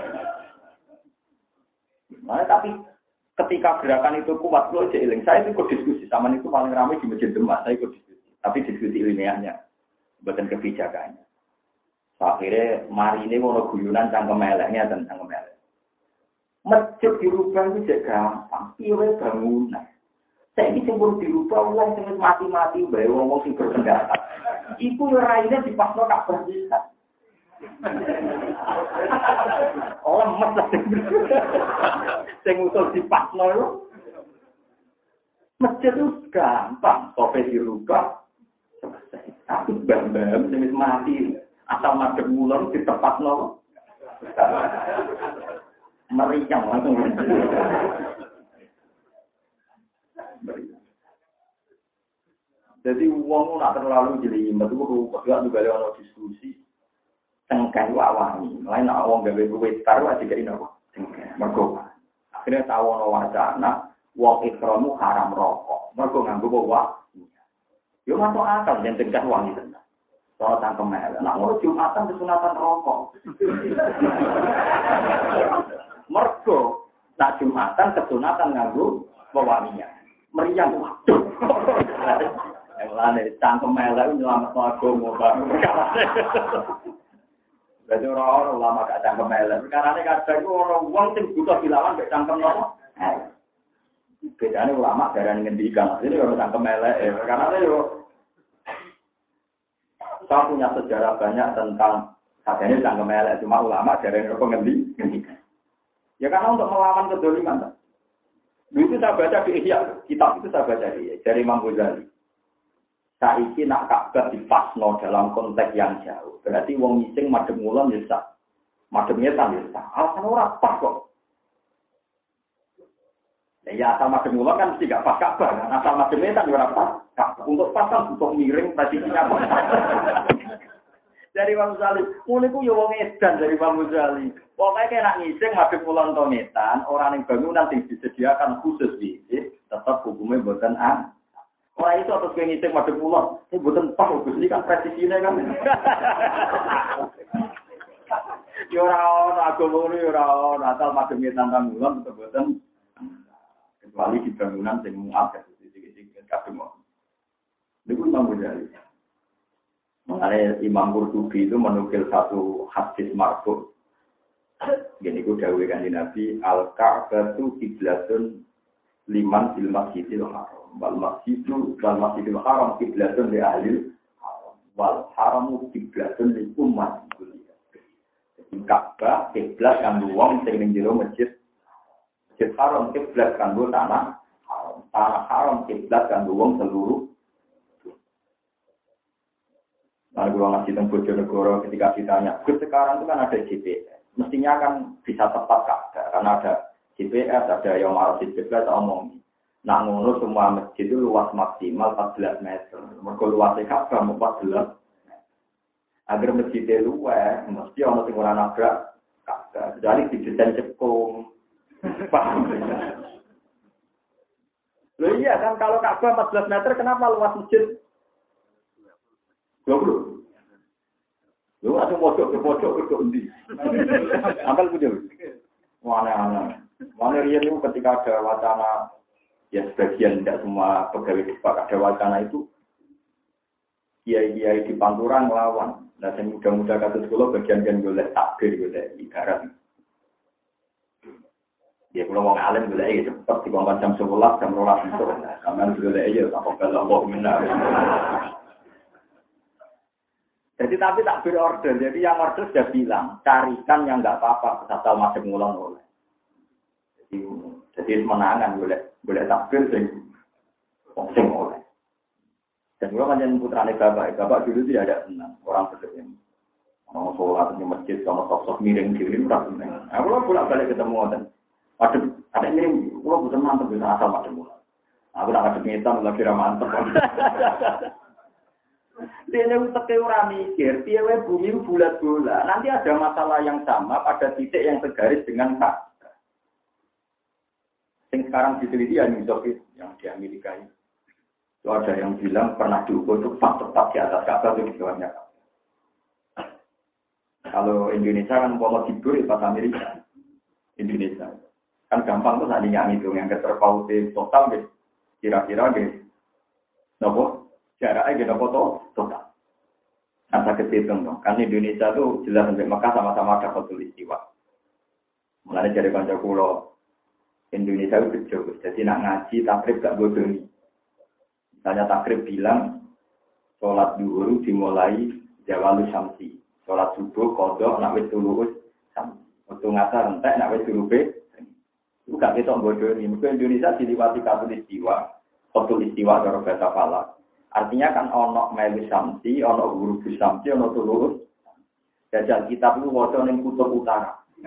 Nah, tapi ketika gerakan itu kuat, lo jeeling. Saya itu ikut diskusi, sama itu paling ramai di Masjid Demak. Saya ikut diskusi, tapi diskusi ilmiahnya, bukan kebijakannya. Akhirnya mari ini mau guyunan cangkem eleknya dan cangkem elek. Masjid dirubah itu juga gampang, piwe bangunan. Saya ini sempur dirubah, ulang sempur mati-mati, bayi ngomong sing berpendapat. Iku raine di pasno Ka'bah bisa. Orang lemes lah. Sing usul di pasno itu. Masjid itu gampang, sope dirubah. Selesai. Tapi bam-bam, sing mati. Asal madhep mulon di tempat no. Meriang langsung. Jadi uang nak terlalu jelimet itu rupanya juga ada diskusi. Tengkai wawani, lain nak uang gawe gawe taruh aja kayak ini apa? Mergo. Akhirnya tahu no wacana uang ikramu haram rokok. Mergo nganggo bawa. Yo masuk akal yang tengkai uang itu. Soal tangkem mel, nak ngurus Jumatan kesunatan rokok. Mergo nak Jumatan kesunatan nganggo bawanginya. Meriang waduh. Yang lain tangkem mel itu nyelamat agama perkara. Jadi orang-orang ulama gak cangkem mel. Perkara ini kadang itu orang uang sing butuh dilawan gak cangkem nopo. Bedanya ulama darah ngendikan. Ini orang cangkem mel. Karena itu saya punya sejarah banyak tentang katanya cangkem elek cuma ulama dari yang pengendi. Ya karena untuk melawan kedoliman. Itu saya baca di Ihya, kitab itu saya baca di dari Imam Ghazali. Saiki nak Ka'bah dipasno dalam konteks yang jauh. Berarti wong ngising madhep ngulon ya sah. Madhep ngetan ya sah. Alasan ora pas kok. Ya asal madhep ngulon kan mesti gak pas Ka'bah. Asal madhep ngetan ya ora pas. Untuk pasang, untuk miring, prediksinya apa? Dari Imam Ghazali, mulai ku ya wong edan dari Imam Ghazali. Pokoknya kayak nak ngising, madhep kulon tonetan, orang yang bangunan yang disediakan khusus bisik, tetap hukumnya buatan an. Orang itu atas kayak ngising madhep kulon, ini buatan pas, ini kan presisinya kan. Ya orang-orang, agama ini orang-orang, asal madhep ngetan kulon, tetap buatan. Kecuali di bangunan yang muat, sedikit-sedikit, kadang itu Imam Ghazali. Mengenai Imam Qurtubi itu menukil satu hadis marfu. Gini ku dawuh Kanjeng Nabi, al-Ka'batu qiblatun liman fil masjidil haram. Wal masjidu wal masjidil haram qiblatun li ahli haram. Wal haramu qiblatun li ummati. Jadi Ka'bah kiblat kanggo wong sing ning jero masjid. Masjid haram kiblat kanggo tanah haram. Tanah haram kiblat kanggo wong seluruh. Nah, kalau ngasih tentang Bojonegoro ketika ditanya, Gus sekarang itu kan ada G P S, mestinya kan bisa tepat Ka'bah, karena ada G P S, ada yang marah G P S, omong. Nah, ngono semua masjid itu luas maksimal empat belas meter, mereka luasnya Ka'bah empat belas. Agar masjidnya luas, mesti orang yang orang nabrak Ka'bah, jadi didesain cekung. Paham? Loh iya kan, kalau Ka'bah empat belas meter, kenapa luas masjid? dua puluh. Lu ada pojok ke pojok ke undi. Ampel punya. Mana-mana. Mana rian itu ketika ada wacana, ya sebagian tidak semua pegawai Depak ada wacana itu, kiai-kiai di Pantura ngelawan. Nah, yang muda-muda kata sekolah bagian-bagian golek takbir, golek ibarat. Ya kalau mau ngalim golek ya cepat di bawah jam sebelas, jam rolas itu. Kamen golek ya tak kalau Allah minta. Jadi tapi tak berorder, jadi yang order sudah bilang carikan yang nggak apa-apa, asal masih ngulang oleh. Jadi, jadi menangan boleh boleh takbir sing sing oleh. Dan gua kan yang putrane bapak, bapak dulu tidak ada senang orang seperti ini. Mau sholat di masjid sama sok-sok miring diri berapa senang. Aku lah bolak balik ketemu dan ada ada miring, gua bukan mantep bisa asal masih ngulang. Aku nak ada ngitam lagi ramantep. Dia itu ora mikir, piye bumi bulat bola. Nanti ada masalah yang sama pada titik yang segaris dengan Ka'bah. Yang sekarang diteliti ya New York yang di Amerika ini. Itu ada yang bilang pernah diukur itu tepat di atas Ka'bah itu di bawahnya Ka'bah. Kalau Indonesia kan mau tidur di pas Amerika. Indonesia kan gampang tuh saat ini yang itu yang keterpautnya total deh. Kira-kira deh. Nopo? Jaraknya kita foto total. Asa kehitung dong. Kan Indonesia tuh jelas sampai Mekah sama-sama ada foto istiwa. Mulanya dari kanca kula Indonesia itu kecil. Jadi nak ngaji takrib gak bodoni. Misalnya takrib bilang sholat duhur dimulai jawalu syamsi. Sholat subuh kodok nak wis tuluus syamsi. Waktu ngasar entek nak wis tulupe. Itu gak ketok bodoni. Mungkin Indonesia diliwati foto istiwa. Foto istiwa cara bahasa falak. Artinya kan ono melu samsi, ono guru samsi, ono tulus. Jajal kitab itu waca ning kutub utara.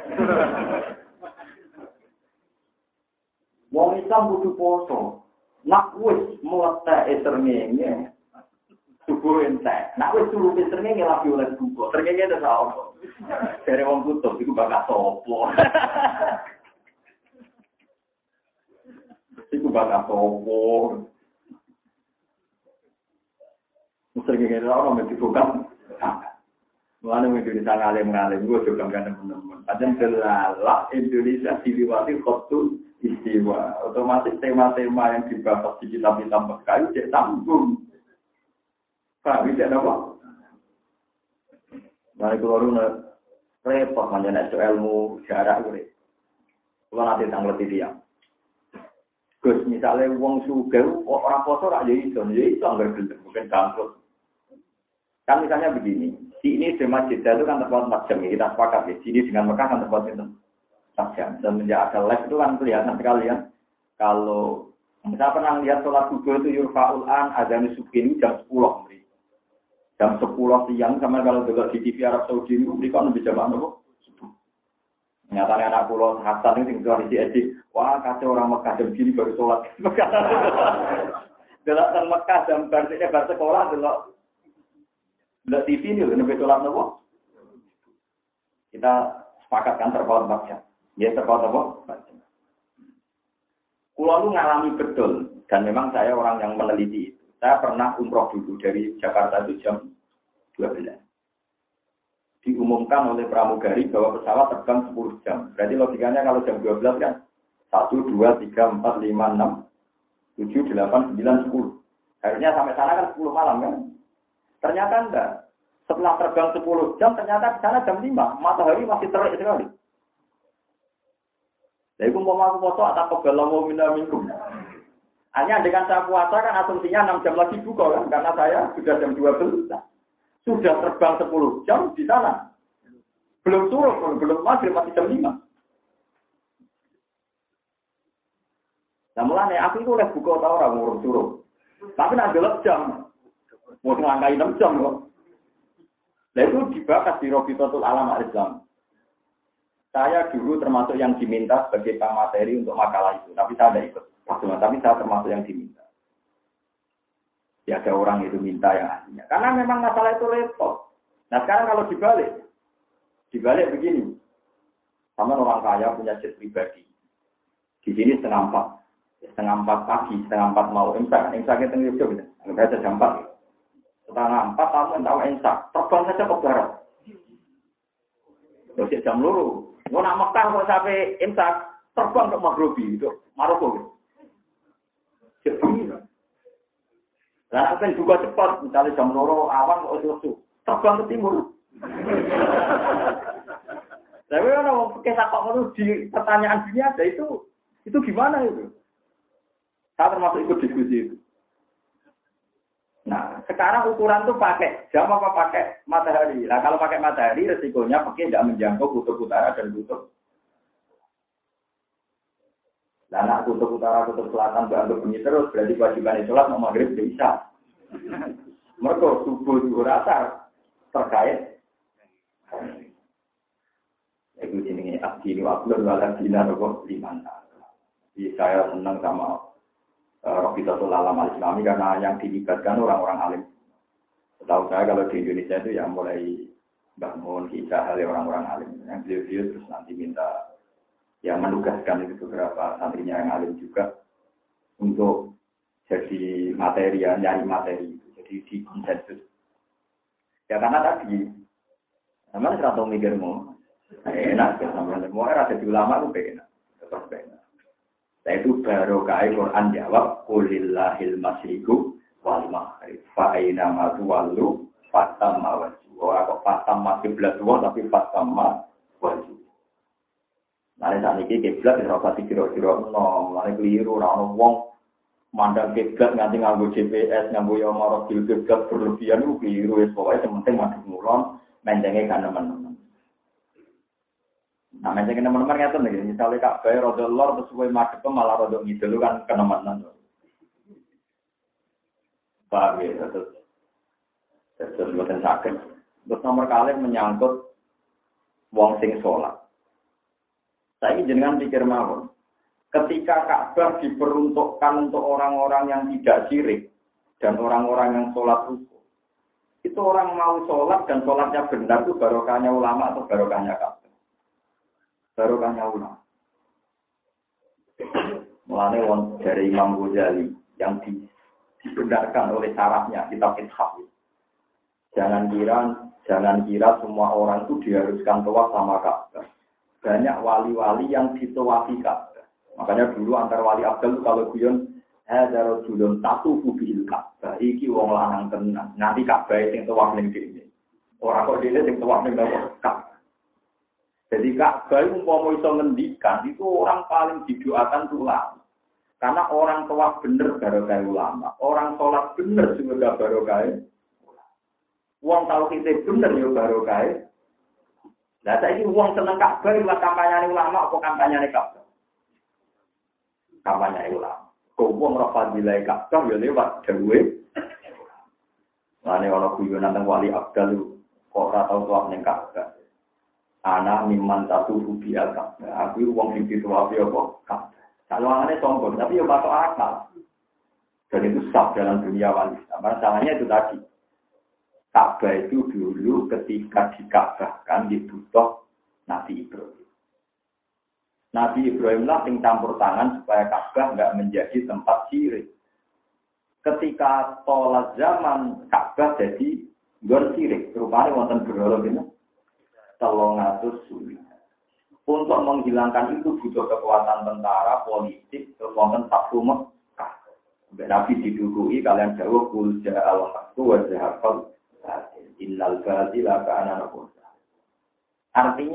Wong Islam kudu poso. Nak wis mletheke srengenge. Subuh entek. Nak wis turu srengenge lagi oleh buka. Srengenge ada apa? Dari wong kutub iku bakal sopo. Iku bakal sopo. Sering kira orang mesti bukan. Mulane Indonesia ngalim-ngalim gue juga kan teman-teman. Padahal selalah Indonesia diliwati khotul istiwa. Otomatis tema-tema yang dibahas di kitab-kitab Mekah itu tanggung. Pak, bisa apa? Mari keluar repot manjana ilmu jarak gue. Kalau nanti tanggal dia. Gus misalnya wong sugih orang poso rak ya iso, ya iso anggar gelem mungkin bangkrut. Kan misalnya begini, di ini di Masjid itu kan terpaut empat jam, ya, kita sepakat ya. Sini dengan Mekah kan terpaut empat jam. Semenjak ada live itu kan kelihatan sekali ya. Kalau saya pernah lihat sholat subuh itu yurfa'ul an adzan subuh ini jam sepuluh. Jam sepuluh siang sama kalau juga di T V Arab Saudi itu mereka lebih jam apa? Subuh. Nyatanya anak pulau Hasan itu tinggal di Edi. Wah kacau orang Mekah jam gini baru sholat. Dalam Mekah jam berarti bar sekolah dulu. Tidak T V ini, lebih sholat nopo. Kita sepakat kan terpaut empat jam. Ya terpaut apa? empat jam. Kulo itu ngalami betul, dan memang saya orang yang meneliti itu. Saya pernah umroh dulu dari Jakarta itu jam dua belas. Diumumkan oleh pramugari bahwa pesawat terbang sepuluh jam. Berarti logikanya kalau jam dua belas kan satu, dua, tiga, empat, lima, enam, tujuh, delapan, sembilan, sepuluh. Harusnya sampai sana kan sepuluh malam kan. Ternyata enggak. Setelah terbang sepuluh jam, ternyata di sana jam lima. Matahari masih terik sekali. Lah iku mau aku foto atau kebalamu minum. Hanya dengan saya puasa kan asumsinya enam jam lagi buka kan karena saya sudah jam dua belas. Sudah terbang sepuluh jam di sana. Belum turun, belum maghrib masih jam lima. Nah mulane aku itu oleh buka tau ora ngurung turun. Tapi nak delok jam. Mau ngangkai enam jam kok. Lah itu dibahas di Robitotul Alam Al-Islam. Saya dulu termasuk yang diminta sebagai pemateri untuk makalah itu, tapi saya tidak ikut. Maksudnya, tapi saya termasuk yang diminta. Ya ada orang itu minta yang aslinya. Karena memang masalah itu repot. Nah sekarang kalau dibalik, dibalik begini. Sama orang kaya punya jet pribadi. Di sini setengah empat. Setengah empat pagi, setengah empat mau imsak. Imsak itu tengah jam. Enggak ada jam empat. Setengah empat kamu tahu imsak. Terbang saja ke barat. Terus jam luru. Mau nak Mekah kok sampai imsak. Terbang ke Maghribi. Itu Maroko. Jadi, nah, kan juga cepat, misalnya jam loro awan kok itu terbang ke timur. Tapi kalau pakai sapak itu di pertanyaan dunia ada itu, itu gimana itu? Saya termasuk ikut diskusi itu. Nah, sekarang ukuran tuh pakai jam apa pakai matahari? Nah, kalau pakai matahari resikonya pakai tidak menjangkau kutub utara dan kutub. Nah, anak kutub utara, kutub selatan dianggap bunyi terus, berarti kewajiban sholat mau maghrib bisa. Mereka subuh juga rata terkait. Itu jenisnya abdinu abdun waladina rokok liman. Jadi saya senang sama uh, Robitotul Alam Al-Islami karena yang dilibatkan orang-orang alim. Setahu saya kalau di Indonesia itu ya mulai bangun kisah hal orang-orang alim. Yang beliau-beliau terus nanti minta yang menugaskan itu beberapa santrinya yang alim juga untuk jadi materi, ya, nyari materi, jadi di konsensus. Ya karena tadi, sama serata mikirmu, enak, sama semua ada di ulama itu enak, tetap enak. Nah itu baru kaya Quran jawab, Qulillahil masyriku wal maghrib, fa'aina matuwallu fatam mawaju. Orang kok fatam masih belas dua tapi fatam mawaju. Nah, saat ini kiblat dirapati kira-kira no, mulai keliru, orang wong mandang kiblat nganti nganggo G P S, nganggo yang marah kiblat berlebihan itu keliru, es pokoknya sementing masuk mulon, mencengnya kan teman-teman. Nah, mencengnya teman-teman ngerti nih, misalnya kak bayar roda lor terus gue madep malah roda ngidul kan kenemenan. Paham ya, terus terus buatan sakit. Terus nomor kali menyangkut wong sing sholat. Saya jenengan pikir mawon. Ketika Ka'bah diperuntukkan untuk orang-orang yang tidak syirik dan orang-orang yang sholat rukuk, itu orang mau sholat dan sholatnya benar itu barokahnya ulama atau barokahnya Ka'bah? Barokahnya ulama. Mulane wong dari Imam Ghazali yang dibenarkan oleh syaratnya kitab Ithaf. Jangan kira, jangan kira semua orang itu diharuskan tawaf sama Ka'bah. Banyak wali-wali yang ditawafi Ka'bah. Makanya dulu antar wali Abdul kalau guyon hadza rajulun tatufu bil Ka'bah. Iki wong lanang tenan. Nanti Ka'bah sing tawaf ning dene. Ora kok dene sing tawaf ning Ka'bah. Jadi Ka'bah umpama iso ngendikan itu orang paling didoakan ulama. Karena orang tawaf bener barokah ulama. Orang sholat bener juga barokah. Wong tauhid bener yo barokah. Nah, saya ini uang seneng Ka'bah lewat kampanye ulama atau kampanye Ka'bah? Kampanye ulama. Kau uang rafadilai Ka'bah ya lewat dewe. Mana orang guyonan tentang wali Abdul kok ratau tuak neng Ka'bah. Anak miman satu rubi al Ka'bah. Aku uang tinggi tuak dia kok Ka'bah. Kalau anaknya sombong, tapi ya masuk akal. Dan itu sah dalam dunia wali. Masalahnya itu tadi. Ka'bah itu dulu ketika dikabahkan dibutuh Nabi Ibrahim. Nabi Ibrahim lah yang campur tangan supaya Ka'bah enggak menjadi tempat syirik. Ketika tolak zaman Ka'bah jadi gon syirik, rupanya wonten berhala ini telung atus sulit. Untuk menghilangkan itu butuh kekuatan tentara, politik, terus wonten Fathu Mekah. Nabi didukui kalian jauh kul ja'al haqqu wa zahaqal innal batila kana naqul. Artinya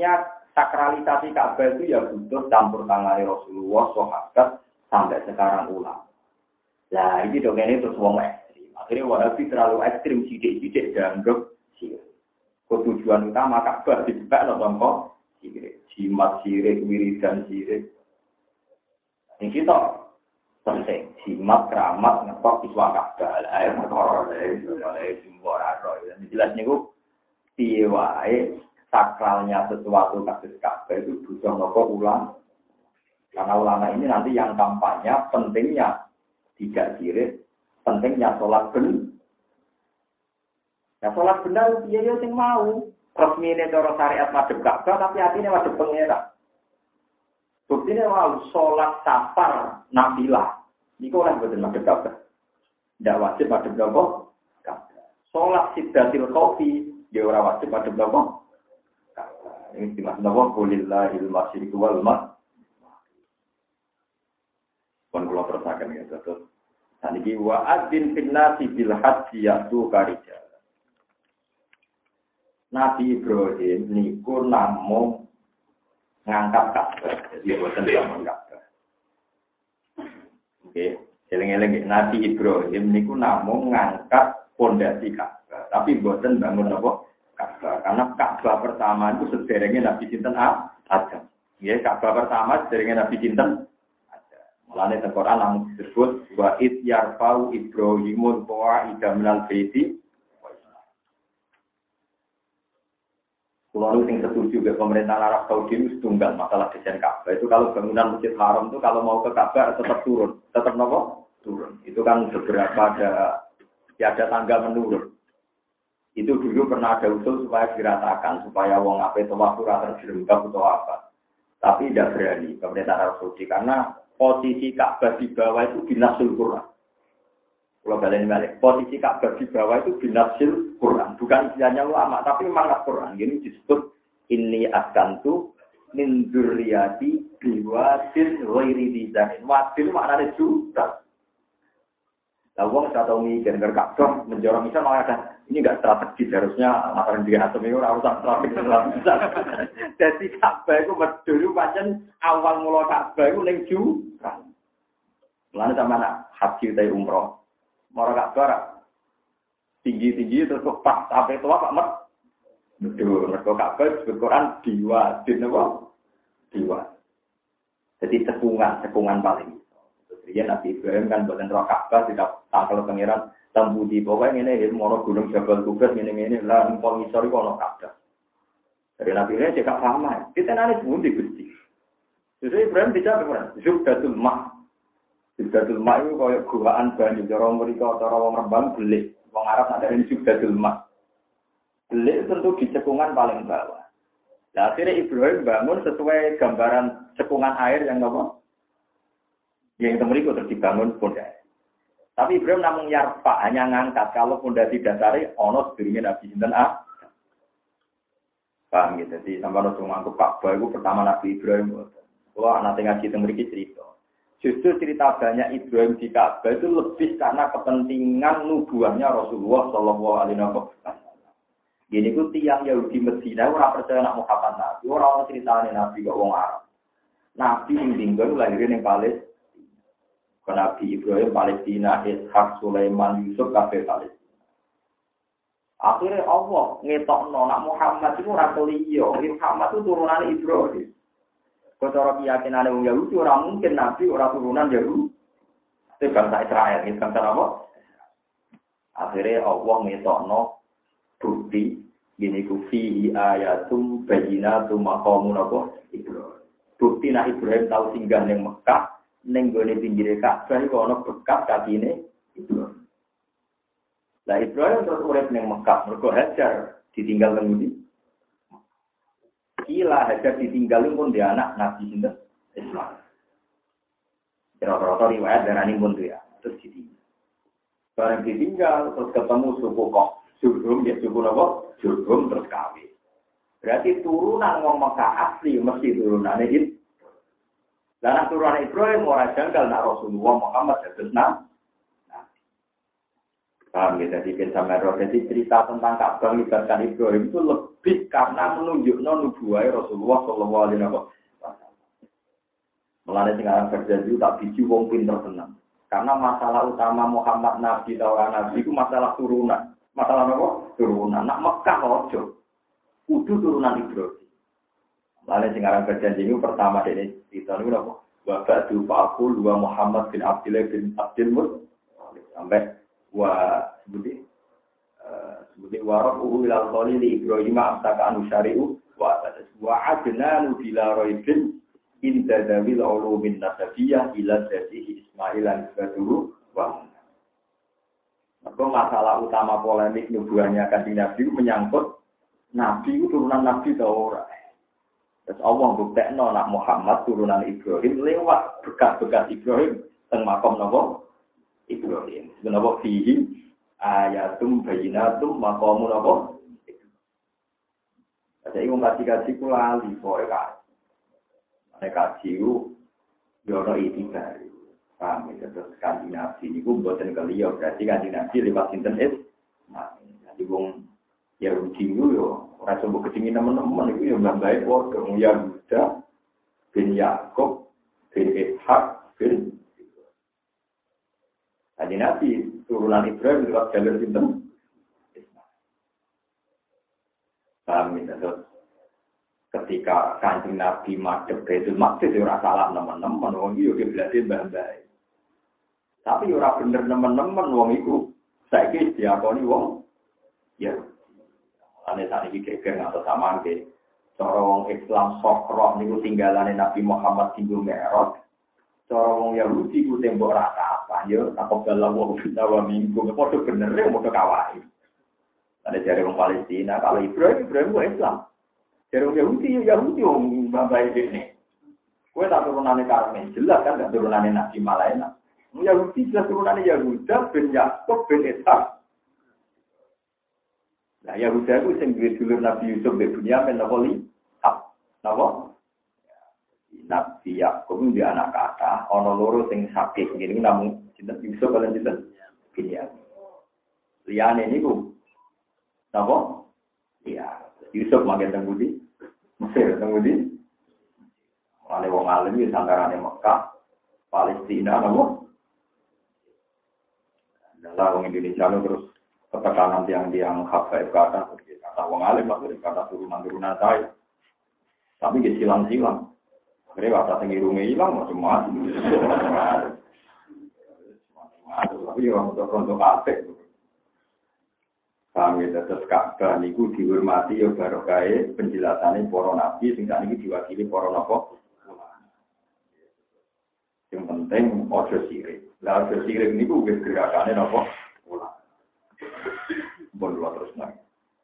sakralisasi Ka'bah itu ya butuh campur tangan Rasulullah, sahabat sampai sekarang ulang. Nah, ini dong ini terus wong ekstrim. Akhirnya Wahabi terlalu ekstrim, sidik-sidik dianggap sirik. Tujuan utama Ka'bah dijebak nonton kok sirik, jimat sirik, wiridan sirik. Ini kita penting, jimat, keramat, ngetok iswa Ka'bah, air perkara, oleh simbol arroh. Jelas niku piye wae sakralnya sesuatu kasus Ka'bah itu butuh nopo ulang. Karena ulama ini nanti yang kampanye pentingnya tidak sirik, pentingnya sholat benar. Ya sholat benar dia ya sing mau. Resmi ini cara syariat madhep Ka'bah tapi hatinya madhep pengira. Buktinya mau sholat safar nafilah. Niku oleh boten madhep Ka'bah. Tidak wajib madhep Ka'bah. Sholat sidratil qaufi ya ora wajib madhep Ka'bah. Ini dimaksud apa? Qulillahil masyriqu wal maghrib. Pun kula tersaken ya terus. Saniki wa adzin fil nasi bil haji yatu karija. Nabi Ibrahim niku namung ngangkat Ka'bah. Jadi boten zaman Ka'bah. Oke, eling-eling Nabi Ibrahim niku namung ngangkat pondasi Ka'bah, tapi boten bangun apa? Ka'bah. Karena Ka'bah pertama itu sederenge Nabi sinten Adam. Nggih, Ka'bah pertama sederenge Nabi sinten Adam. Mulane teng Quran namung disebut wa id yarfa'u Ibrahimul qawa'ida minal baiti. Kalau yang setuju ke pemerintah Arab Saudi itu tunggal masalah desain Ka'bah. Itu kalau bangunan Masjid Haram itu kalau mau ke Ka'bah tetap turun, tetap nopo turun. Itu kan beberapa ada ya ada tangga menurun. Itu dulu pernah ada usul supaya diratakan supaya wong ape tawaf ora terjerembab atau apa. Tapi tidak berani pemerintah Arab Saudi karena posisi Ka'bah di bawah itu binasul Quran. Kalau kalian balik, posisi Ka'bah di bawah itu binasil Quran, bukan istilahnya ulama, tapi memang Quran. Ini disebut ini askantu min dzurriyyati biwadin ghairi dzin. Wadin maknanya juta. Lah wong ora tau mikir nek Ka'bah menjorong misal malah ada ini enggak strategis harusnya masalah di atom itu ora usah strategis. Jadi Ka'bah itu medul pancen awal mula Ka'bah itu ning juta. Lan sampeyan haji utawa umroh Mora Ka'bah tinggi-tinggi terus pas sampai tua Pak Mat. Betul, mergo Ka'bah disebut Quran diwa, dinapa? Diwa. Jadi cekungan, cekungan paling. Terus dia Nabi Ibrahim kan boten roh Ka'bah tidak tangkel pangeran tambudi pokoke ngene iki mono gunung Jabal Kubra ngene-ngene lah empol ngisor iku ana Ka'bah. Dari Nabi Ibrahim cek paham. Kita nane pundi Gusti. Jadi Ibrahim dijawab ora? Zubdatul Ma. Subdatul Ma itu kaya guaan banyu, cara mereka, cara wong Rembang belik. Wong Arab ada ini Subdatul Ma. Belik tentu di cekungan paling bawah. Nah, akhirnya Ibrahim bangun sesuai gambaran cekungan air yang apa? Yang temeriku terus dibangun pondasi. Tapi Ibrahim namun yarfa, hanya ngangkat. Kalau pondasi dasari, ono sedurunge Nabi Sinten A. Paham gitu. Jadi sampai langsung ngangkup Ka'bah itu pertama Nabi Ibrahim. Kalau anak ngaji temeriku cerita. Justru cerita banyak Ibrahim di Ka'bah itu lebih karena kepentingan nubuahnya Rasulullah Shallallahu Alaihi Wasallam. Gini ku tiang Yahudi Medina orang percaya nak Muhammad Nabi, orang ceritanya Nabi kok wong Arab. Nabi yang tinggal lahirin yang Palestina. Nabi Ibrahim Palestina, Ishak, Sulaiman, Yusuf kafe Palestina. Akhirnya Allah ngetokno nak Muhammad itu orang keliyo, Muhammad itu turunan Ibrahim. Kalau keyakinan orang Yahudi, orang mungkin Nabi, orang turunan Yahudi. Itu bangsa Israel, itu bangsa apa? Akhirnya Allah ngetokno bukti, gini kufi ayatum bayinatum maqamun apa? Ibrahim. Bukti nak Ibrahim tahu singgah neng Mekah, neng gone pinggire Ka'bah iku ana bekas kakine Ibrahim. Lah Ibrahim terus urip neng Mekah, mergo Hajar ditinggal ngendi? Kila Hajar ditinggalin pun dia anak Nabi Sinten Ismail. Kira-kira riwayat darani pun dia terus ditinggal. Barang ditinggal terus ketemu suku kok Jurhum ya suku apa? Jurhum terus kawin. Berarti turunan wong Mekah asli mesti turunane itu. Lah nek turunan Ibrahim ora janggal nak Rasulullah Muhammad dados nabi. Paham ya, jadi pensamai roh. Jadi cerita tentang Ka'bah melibatkan Ibrahim itu lebih karena menunjukkan nubuwah Rasulullah Shallallahu Alaihi Wasallam. Mulanya sekarang berjanji tak biji wong pinter tenang. Karena masalah utama Muhammad Nabi atau orang Nabi itu masalah turunan. Masalah apa? Turunan. Nak Mekah ojo. Kudu turunan Ibrahim. Mulanya sekarang berjanji itu pertama dari cerita ini apa? Bapak itu Pak dua Muhammad bin Abdullah bin Abdul Muttalib sampai wa sebuti uh, sebuti warab uhu ilal kholi li Ibrahim amsaka anu syari'u wa atas wa adnanu bila roibin inda dawil ulumin nasabiyah ila jadihi Ismail al-Baduru wa maka masalah utama polemik nubuahnya kanjeng Nabi menyangkut Nabi itu turunan Nabi atau orang. Terus Allah buktekno nak Muhammad turunan Ibrahim lewat bekas-bekas Ibrahim teng makom napa Ibrahim. Sebenarnya fihi ayatum bayinatum maqamun apa? Jadi wong kaji-kaji ku lali kowe kaji. Nek kaji ku yo ono itibar. Paham ya terus kanjeng Nabi niku mboten keliya berarti kanjeng Nabi lewat sinten es. Nah, jadi wong ya rugi yo ora coba ketingin teman-teman iku yo mbae padha Yahuda bin Yakub bin Ishak bin Kanjeng Nabi turunan Ibrahim lewat jalur sinten? Paham ya, terus ketika Kanjeng Nabi madhep Baitul Maqdis ora salah nemen-nemen wong iki yo kiblate mbah-mbah. Tapi ora bener nemen-nemen wong iku saiki diakoni wong ya. Ane sakniki geger atau sama nggih. Cara wong Islam sokro niku tinggalane Nabi Muhammad tinggal Mi'raj. Cara wong Yahudi ku tembok rata apa yo takok dalam wong kita wa minggu padha bener ya padha kawahi. Ada jare wong Palestina kalau Ibrahim Ibrahim ku Islam. Jare wong Yahudi ya Yahudi wong babae dene. Kowe tak turunane Karmen jelas kan gak turunane Nabi Malaina. Wong Yahudi jelas turunane Yahuda bin Yakub bin Ishak. Nah Yahuda ku sing duwe dulur Nabi Yusuf bin Bunyamin napa li? Napa? Nabi Yakub itu anak kata, ono loro sing sakit ngene namung sinten Yusuf lan sinten Binyamin. Liyane niku napa? Iya, Yusuf manggen teng Budi. Mesir teng Budi. Wale wong alim iki sangarane Mekah, Palestina napa? Dalam wong Indonesia terus ketekanan tiang-tiang hafaif kata, kata wong alim maksudnya kata turunan-turunan saya. Tapi ge silang-silang. Mereka kata tinggi-rungi hilang, macam-macam. Tapi orang untuk kafe. Kami tetap Ka'bah niku dihormati ya barokah penjelasannya para nabi, sehingga ini diwakili para nabi. Yang penting ojo sirik. Lah ojo sirik niku wis gerakane napa? Ulama. Bon terus nang.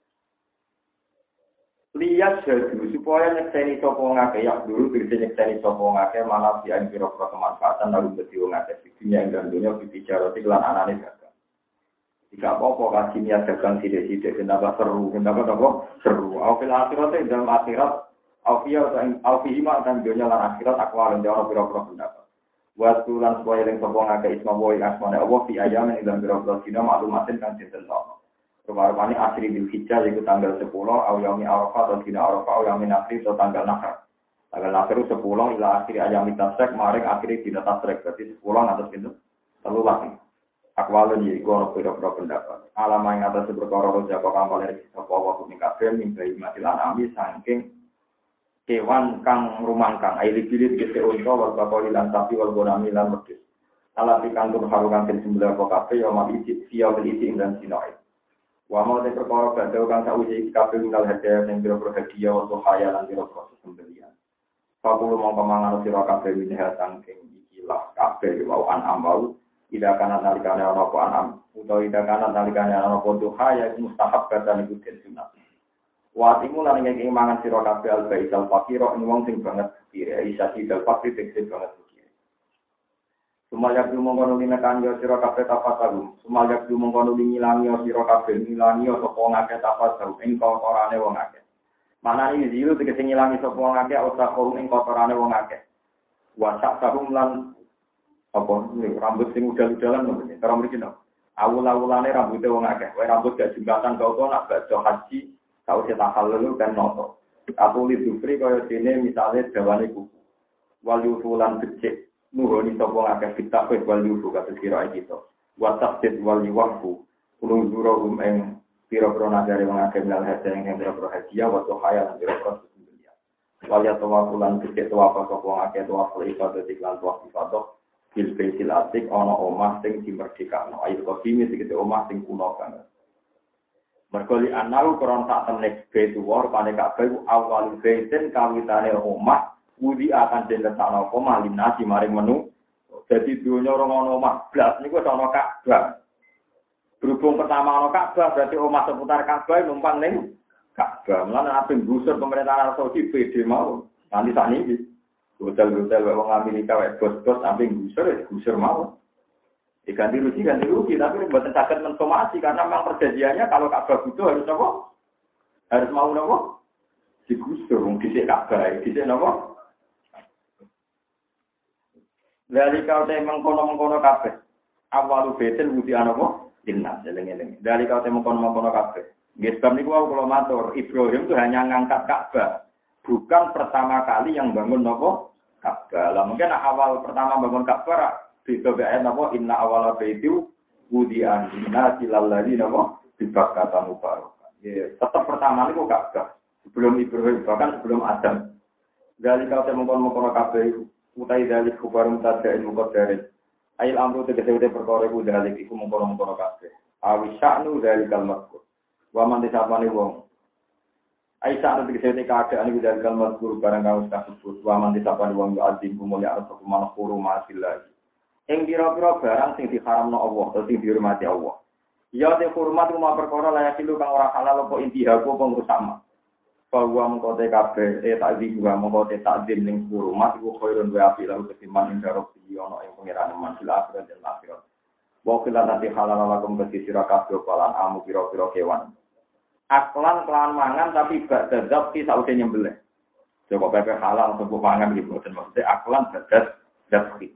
Lihat jadu supaya nyekseni sapa ngake ya dulu bisa nyekseni sapa ngake malah dia kira-kira kemanfaatan lalu dadi wong akeh di dunia dan dunia bicara lan anane dagang. Jika apa-apa kasih niat dagang sithik-sithik kenapa seru, kenapa apa seru. Aufil akhirat dalam akhirat aufiyah dan aufihima dan dunia lan akhirat akwal jawab kira-kira pendapat. Buat tulan supaya yang sapa ngake isma boy asmane Allah fi ayamin dalam kira-kira dina maklumatin kan sinten Rupa-rupanya asri bil hijjah yaitu tanggal sepuluh, awiyami arafah atau dina arafah, awiyami nasri atau tanggal nakar. Tanggal nakar itu sepuluh, ila akhiri ayami tasrek, maring akhiri dina tasrek. Berarti sepuluh atas itu, terlalu lagi. Akwalun yaitu orang beda-beda pendapat. Alama yang atas seberkara roja kok kampal dari kisah bahwa kuning kafir, mimpi mati lanami, sangking kewan kang rumangkang. Aili bilit kese unta, wal bakori lan sapi, wal gonami lan medis. Alat ikantur harukan ten sembilan kok kafe, yamal isi, siya belisi dan sinoid. Wa mau te perkara badhe kang sauji kabeh ngal hadiah ning biro hadiah wa khayal lan biro proses pembelian. Pakulu mongko mangan sira kabeh minha saking ikilah kabeh wa an ambau ida kana nalikane ana apa anam utawa ida kana nalikane ana apa duha ya mustahab badan iku den sunat. Wa timu lan ngeki mangan sira kabeh al baisal fakira ing wong sing banget kira isa sidal fakir sing banget. Sumayak dumongkono linekan yo sira kabeh tapataru. Sumayak dumongkono ngilangi yo sira kabeh ngilangi yo sapa ngake tapataru ing kotorane wong akeh. Manane zilu tegese ngilangi sapa wong akeh utawa korum ing kotorane wong akeh. Wa sak tahum lan apa rambut sing udal-udalan ngono. Cara mriki no. Awul-awulane rambute wong akeh. Kowe rambut gak jembatan kok nak baca haji, tau cetak halul kan noto. Atuli dufri kaya dene misale dawane kuku. Wal yufulan becik nuhoni sapa akeh kitab wal yufu kados kira iki to. Wa tafsid wal yuwafu kulung zurum ing pira-pira nagare wong akeh lan hadhe ing pira-pira hadiah wa hayal pira-pira dunya. Wal ya tawafulan becik tawafa sapa wong akeh tawafu ibadah iklan tawafu ibadah bil baitil atik ana omah sing dimerdekakno ayo kodime iki omah sing kuno banget. Mergo li anau kron sak temne baitu war pane kabeh awal baitin kawitane omah Wudi akan diletakno apa malih nasi maring menu. Jadi dunya ora ono omah blas niku ana Ka'bah. Berhubung pertama ana Ka'bah berarti omah seputar Ka'bah numpang ning Ka'bah. Mulane ape gusur pemerintahan Arab Saudi P D mau. Nanti sakniki hotel-hotel wong Amerika wae bos-bos sampe gusur ya gusur mau. Diganti rugi ganti rugi tapi mboten saged mensomasi karena memang perjanjiannya kalau Ka'bah butuh harus apa? Harus mau napa? Digusur wong dhisik Ka'bah, dhisik napa? Dari kau teh mengkono-mengkono kabeh. Awalu betel budi anopo? Inna seleng-eleng. Dari kau teh mengkono-mengkono kabeh. Nggih sebab niku wau kula matur, Ibrahim itu hanya ngangkat Ka'bah. Bukan pertama kali yang bangun nopo? Ka'bah. Lah mungkin awal pertama bangun Ka'bah itu ayat nopo? Inna awala baitu budi anna silalladi nopo? Dibakata mubarak. Ya, tetap pertama niku Ka'bah. Sebelum Ibrahim bahkan sebelum Adam. Dari kau teh mengkono-mengkono kabeh utai dalik kubarum tadain mukadarin. Ail amru tegese-tegese perkara iku dalik iku mengkono-mengkono kabeh. Awi sya'nu dalikal mazkur. Wa man disapane wong. Ai sya'nu tegese keadaan iku dalikal mazkur barang kang wis kasebut. Wa man disapane wong yo azim kumulya arep manhuru masillah. Ing pira-pira barang sing diharamno Allah, atau sing dihormati Allah. Ya te hormat umma perkara layak ilu kang ora halal apa intiha apa ngrusak. Bahwa mengkote kabeh eh takzim juga mengkote takzim ning hurumat iku khairun wa afi lalu ketiman ing darok iki ana ing pangeran mansil akhirat dan akhirat. Wa kila nanti halal lakum bagi sira kabeh palan amu pira-pira kewan. Aklan kelan mangan tapi gak dadap ki sausé nyembelih. Coba pepe halal sepuh mangan iki boten maksud aklan dadas dadki.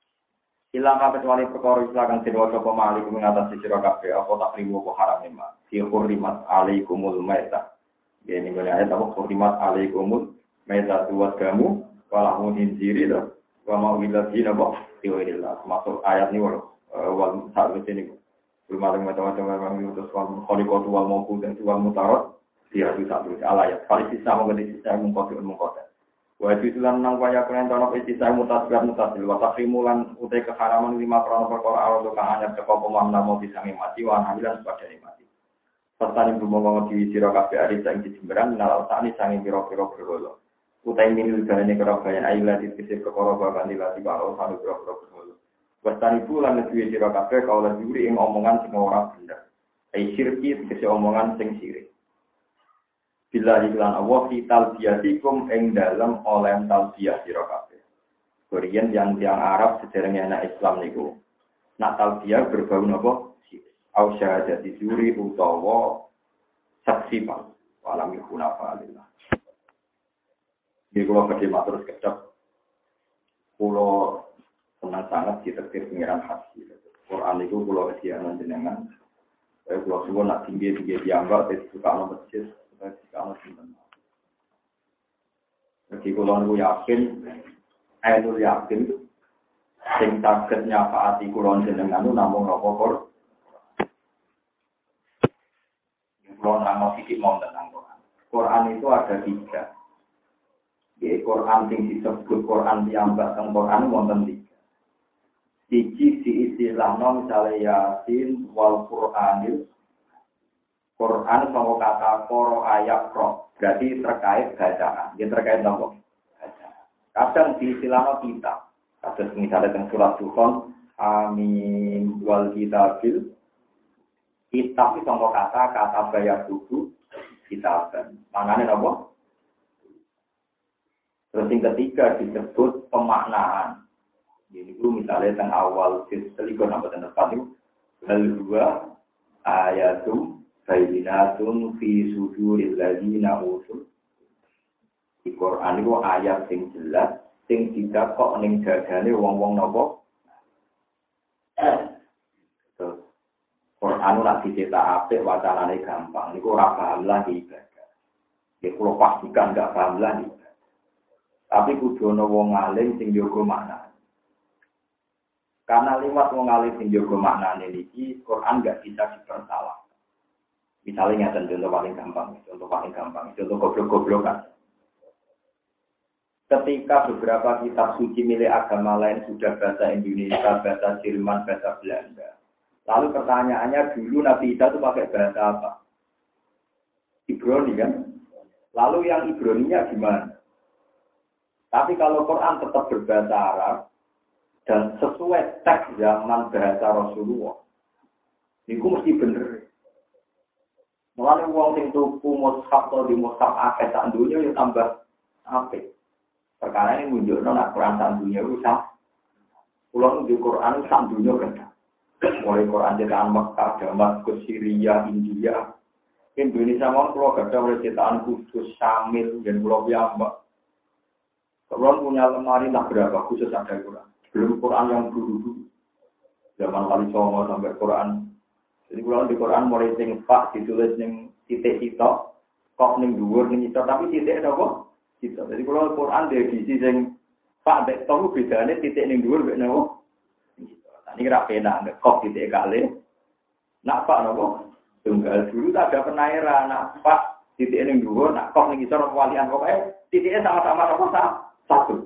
Ilang kabeh wali perkara istilah kang diwaca apa malik mengatasi sira kabeh apa takrimu apa haram nema. Fi hurrimat alaikumul maitah. Ini boleh ayat apa khurimat alaikumul maitatu wadamu walahu injiri lah wa ma'ulillahi nabah tiwirillah masuk ayat ini wal wal saat ini belum ada macam-macam memang itu soal khaliqatu wal mawqud dan wal mutarad dia itu satu ayat kali sisa mengenai sisa mengkotir mengkotir wa itu lan nang waya kenen tono sisa mutasbih mutasil wa takrimulan utai keharaman lima krono perkara Allah kang anyar teko pemamna mau bisa mati wa hamilan sebagai mati. Serta ibu monggo diwi sira kabeh ari sing dijemberan nalal sakni sange pira-pira berhala. Utai minul dalane kerabayan aila dikisih perkara bakan dilati karo sanu pira-pira berhala. Wastani bulan diwi sira kabeh kaula juri ing omongan sing ora bener. Ai syirki dikisih omongan sing sirik. Bila iklan Allah fital biatikum ing dalem oleh talbiyah sira kabeh. Korean yang yang Arab sederenge anak Islam niku. Nak talbiyah berbau napa? Au syahadati juri utawa saksi pak walam yakuna fa'alillah. Jadi kalau bagi matur sekejap, kalau senang sangat ditetir pengiran haji. Quran itu kalau kesianan jenengan, kalau semua nak tinggi tinggi dianggap, itu suka alam masjid, suka alam simpan. Jadi kalau aku yakin, aku yakin, sing sakit nyafaati kulon jenengan itu namun rokok. Kalau nama sedikit mau tentang Quran. Quran itu ada tiga. Di Quran yang disebut Quran yang tentang Quran wonten tiga. Siji diistilahno misalnya Yasin wal Quranil. Quran sama kata koro ayat pro. Berarti terkait bacaan. Dia terkait apa? Bacaan. Kadang diistilahno kitab. Kadang misalnya tentang surat Dukhan. Amin wal kitabil. Kitab itu sama kata, kata bayar buku, kitab. Maknanya apa? Terus yang ketiga disebut pemaknaan. Jadi itu misalnya tentang awal, selikur nama tentang itu. Lalu dua, ayatum, bayinatun, fi suduril ladina usul. Di Quran itu ayat yang jelas, yang tidak kok ning dadane wong-wong napa. Quran nak dicetak apik wacanane gampang. Niku ora paham lah ibadah. Nggih kula pastikan gak paham lah ibadah. Tapi kudu ana wong alim sing jaga makna. Karena lewat wong alim sing jaga maknane niki Quran gak bisa dipersalah. Misalnya contoh paling gampang, contoh paling gampang, contoh goblok-goblokan. Ketika beberapa kitab suci milik agama lain sudah bahasa Indonesia, bahasa Jerman, bahasa Belanda. Lalu pertanyaannya dulu Nabi Isa itu pakai bahasa apa? Ibrani kan? Lalu yang Ibraninya gimana? Tapi kalau Quran tetap berbahasa Arab dan sesuai teks zaman bahasa Rasulullah, itu mesti bener. Mulane wong sing tuku mushaf atau di mushaf akeh sak dunya ya tambah apik. Perkara ini menunjukno nek Quran sak dunya itu sak. Kulo di Quran sak dunya kan. Mulai Quran cetakan Mekah, Damaskus, Syria, India, Indonesia mau kalau gak ada mulai cetakan khusus Syamil dan Pulau Piyambak. Kalau punya lemari tak berapa khusus ada Quran. Belum Quran yang dulu-dulu. Zaman Wali Songo sampai Quran. Jadi kalau di Quran mulai sing pak ditulis ning titik sitok, kok ning dhuwur ning sitok tapi titik apa? Sitok. Jadi kalau Quran di edisi sing pak dek tau bedane titik ning dhuwur mek napa? Ini kira pena, kok titik kali. Nak pak nopo? Tunggal dulu tak ada penairan. Nak pak titik ini dua, nak kok nih kita walian pokoknya titiknya sama-sama nopo satu.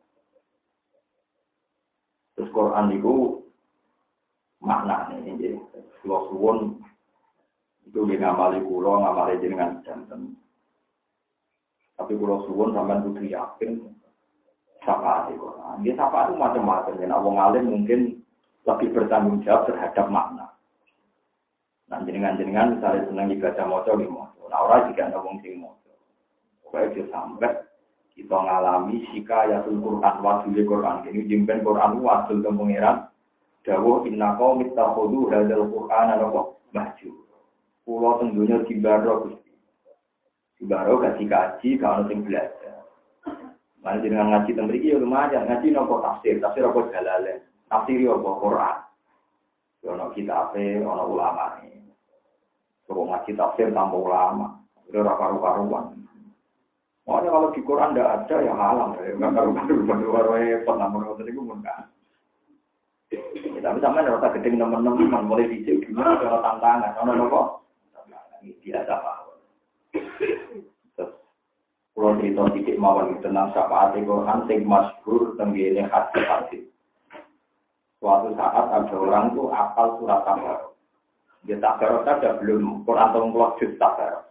Terus Quran itu makna nih, jadi kalau suwon itu dia ngamali kulo, ngamali jenengan jantan. Tapi kalau suwon sampai butuh yakin, siapa sih Quran? Dia siapa itu macam-macam. Dan awang alim mungkin lebih bertanggung jawab terhadap makna. Nah, jenengan-jenengan misalnya senang ibadah moco di moco. Nah, orang juga ada wong sing moco. Pokoknya dia sampai kita ngalami sikayatul Quran, wadul Quran. Ini jimpen Quran wadul ke pengiran. Dawuh inna qaum ittakhadhu hadzal Qur'ana mahjur. Pulau tentunya dibaro Gusti. Dibaro kaji-kaji kalau sing belajar. Mari jenengan ngaji teng mriki ya lumayan, ngaji nopo tafsir, tafsir apa jalalain. Tafsir apa Quran. Ono kitabe, ono ulama ini. Kalau ngaji tafsir tanpa ulama, itu karu-karuan. Makanya kalau di Quran tidak ada ya halang, ya nggak karu-karuan, baru-baru repot namun waktu itu pun kan. Tapi sama ada rasa gedeng teman-teman, mulai dicek gimana kalau tantangan, ono nopo, ini biasa pak. Terus kalau cerita sedikit mawon tentang syafaat Quran, sing masyhur tenggene hadis-hadis. Suatu saat ada orang tuh apal surat Tabarok. Dia Tabarok saja belum Quran tongklok juz Tabarok.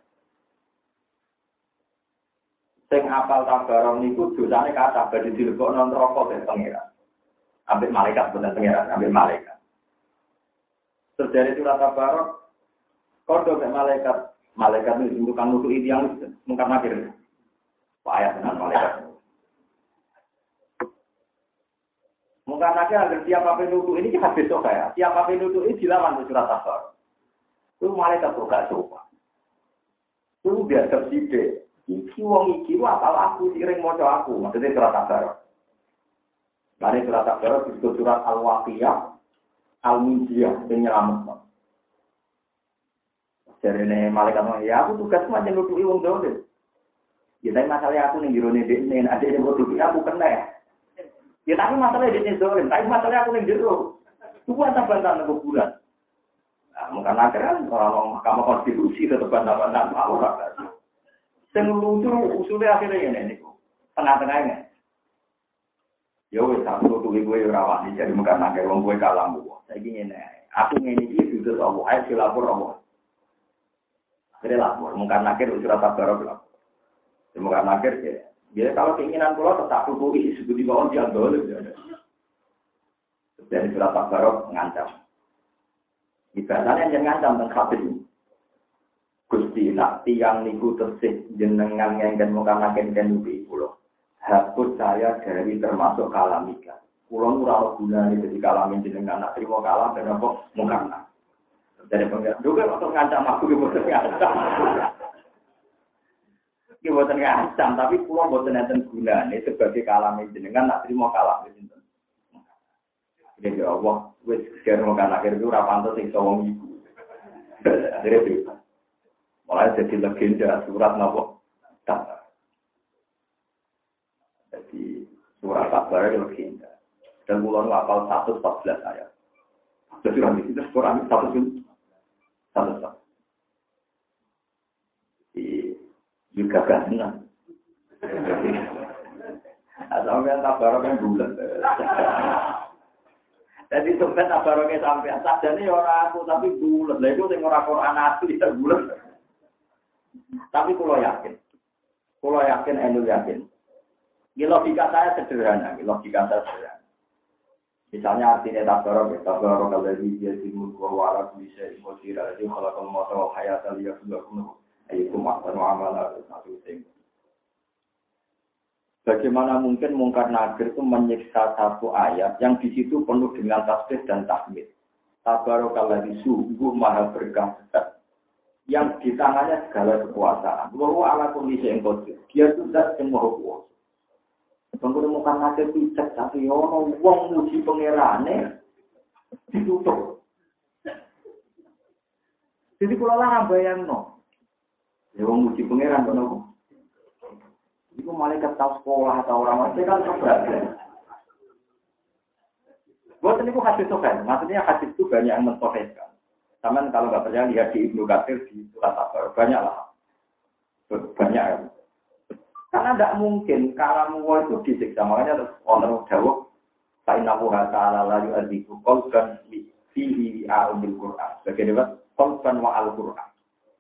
Sing apal Tabarok niku dosane kathah badhe dilebokno neraka dening pangeran. Ambil malaikat bener pangeran, ambil malaikat. Terjadi surat Tabarok, kodo mek malaikat, malaikat itu tukang nutuki tiyang mungkar nakir. Payah dengan malaikat. Mungkin aja agar siapa penutup ini kita besok ya. Siapa penutup ini dilawan di surat Tabarok. Itu malaikat tuh gak coba. Itu biar tersidik. Iki wong iki apal aku sering moco aku. Maksudnya surat Tabarok. Dari surat Tabarok disebut surat Al-Waqiyah, Al-Munjiyah, yang nyelamat. Jadi ini malaikat ngomong, ya aku tugas macam nutupi wong dolim. Ya tapi masalahnya aku nih jirone dene, ada yang nutupi aku kena. Ya tapi masalahnya di dolim, tapi masalahnya aku yang jero. Itu antara bantah nunggu bulan. Nah, mungkin akhirnya orang Mahkamah Konstitusi tetap bantah-bantah orang. Yang lucu usulnya akhirnya ini, tengah-tengahnya. Ya wes aku tuh gue rawani jadi mungkin akhirnya orang gue kalah gue. Saya ingin aku ini itu sudah Allah, ayo silapor Allah. Akhirnya lapor, mungkin akhirnya surat Tabarok lapor. Mungkin akhirnya jadi kalau keinginan pulau tetap tutup isi sebut di bawah dia boleh. Dari surat Tabarok mengancam. Ibadahnya yang ngancam tentang kafir. Gusti nak tiang niku tersih jenengan yang dan mengkanakan dan nubi pulau. Hapus saya dari termasuk kalamika. Pulau murah guna ini jadi kalamin jenengan nak terima kalam dan apa mengkana. Dari pengiran juga untuk ngancam aku juga ngancam. Ini buatan ngancam, tapi pulau buatan enten guna ini sebagai kalamin jenengan nak terima kalam jenengan. Jadi Allah, wes sekarang makan akhir itu rapanto sing sawang ibu. Akhirnya bebas. Mulai jadi legenda surat nopo Tabar. Jadi surat Tabar itu legenda. Dan mulai hafal seratus empat belas ayat. Jadi orang itu Quran satu satu satu. Di juga kan. Asal yang Tabar kan bulan. Jadi sampai Tabaroknya sampai sajane orang aku tapi bulan. Lah itu sing ora Quran asli ya bulan. Tapi kalau yakin, kalau yakin, enu yakin. Ini logika saya sederhana, ini logika saya sederhana. Misalnya artinya tabarok, ya tabarok kalau dia timur gua warak bisa imposira, jadi kalau kamu mau tahu hayat dia sudah kuno, itu makna amalan satu ting. Bagaimana mungkin Mungkar Nakir itu menyiksa satu ayat yang di situ penuh dengan tasbih dan tahmid. Tabarok kalau sungguh maha berkah. Yang di tangannya segala kekuasaan. Bahwa ala kondisi yang kodir. Dia sudah semua kuasa. Kemudian Mungkar Nakir pijak tapi ono wong muji pangerane ditutup. Jadi kalau lah bayangno. Ya wong muji pangeran kono. Iku malaikat tahu sekolah atau orang macam kan sebenarnya. Buat ini bukan hadis sokan. Maksudnya hadis itu banyak yang mensohkan. Sama kalau nggak percaya lihat di Ibnu Katsir di surat Tabar banyak lah, banyak. Karena tidak mungkin kalau mau itu disiksa makanya terus orang jawab, saya nabu hata lalu adiku kolkan fihi aumil Quran. Bagaimana kolkan wa al Quran.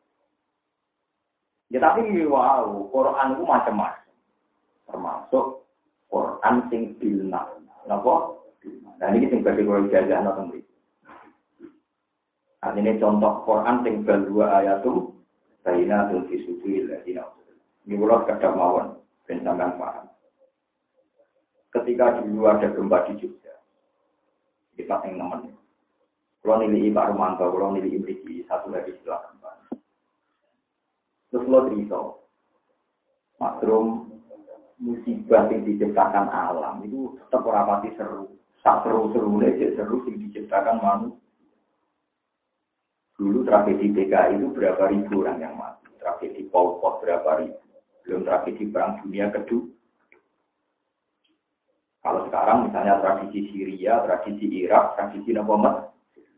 Ya tapi wow, Quran itu macam-macam, termasuk Quran sing bilna, napa? Nah ini sing bagi kalau jajan atau beri. Artinya contoh Quran tinggal dua ayatum, Sayyidina Tuhan Fisudil, ini ulang kadang mawon, bentangan paham. Ketika dulu ada gempa di Jogja, di Pateng Nemen, kalau nilai Pak Romanto, kalau nilai Imriki, satu lagi setelah gempa. Terus lo teriso, makrum musibah yang diciptakan alam, itu tetap rapati seru. Tak seru-seru aja, seru yang diciptakan manusia. Dulu tragedi P K I itu berapa ribu orang yang mati. Tragedi Pol Pot berapa ribu. Belum tragedi Perang Dunia Kedua. Kalau sekarang misalnya tradisi Syria, tradisi Irak, tradisi Nabamat.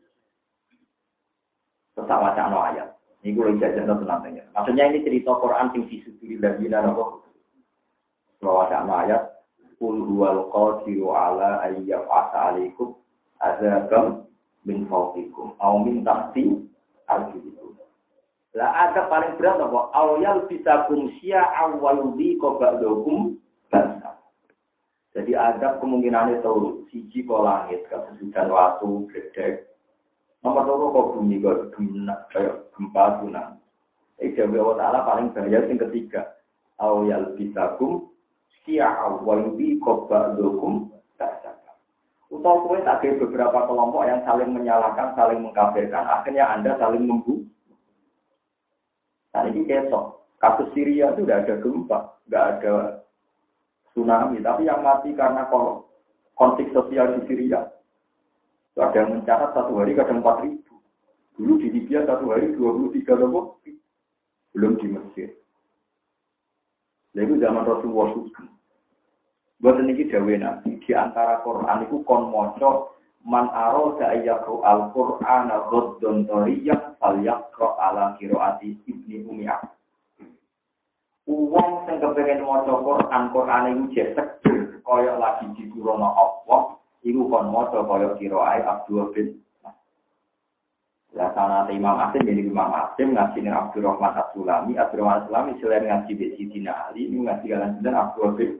Tetap wacana ayat. Ini gue jajan atau nantinya. Maksudnya ini cerita Quran yang disuduri lagi dan apa. Kalau wacana ayat. Qul huwal qadiru ala ayyaf asa alaikum azabam min fawqikum. Au min tahti al-jibikum. Lah ada paling berat apa? Awyal bisa kumsia awaludi kobakdokum bangsa. Jadi ada kemungkinan itu siji ko langit, kesusudan waktu, gedek. Nomor loro kok bumi kok kayak gempa tsunami. Ija Allah Ta'ala paling bahaya yang ketiga. Awyal bisa kumsia awaludi kobakdokum bangsa. Utau kue tak ada beberapa kelompok yang saling menyalahkan, saling mengkafirkan. Akhirnya Anda saling membunuh. Nah ini kesok. Kasus Syria itu tidak ada gempa, tidak ada tsunami. Tapi yang mati karena konflik sosial di Syria. Ada yang mencatat satu hari kadang empat ribu. Dulu di Libya satu hari dua puluh tiga ribu. Belum di Mesir. Lalu zaman Rasulullah sugeng. Buat ini dawe nabi di antara Quran itu kon moco man aroda ayakru al Quran al-Ghaddon Toriyah fal-yakro ala kiroati ibni Umiyah. Uang yang kepengen moco Quran, Quran itu jesek koyok lagi di Quran Allah, itu kon moco koyok kiroai Abdul bin. Lah sana Imam Asim jadi Imam Asim ngaji dengan Abdurrahman As-Sulami, Abdurrahman As-Sulami selain ngaji di Sidina Ali, ini ngaji jalan jalan Abdul bin.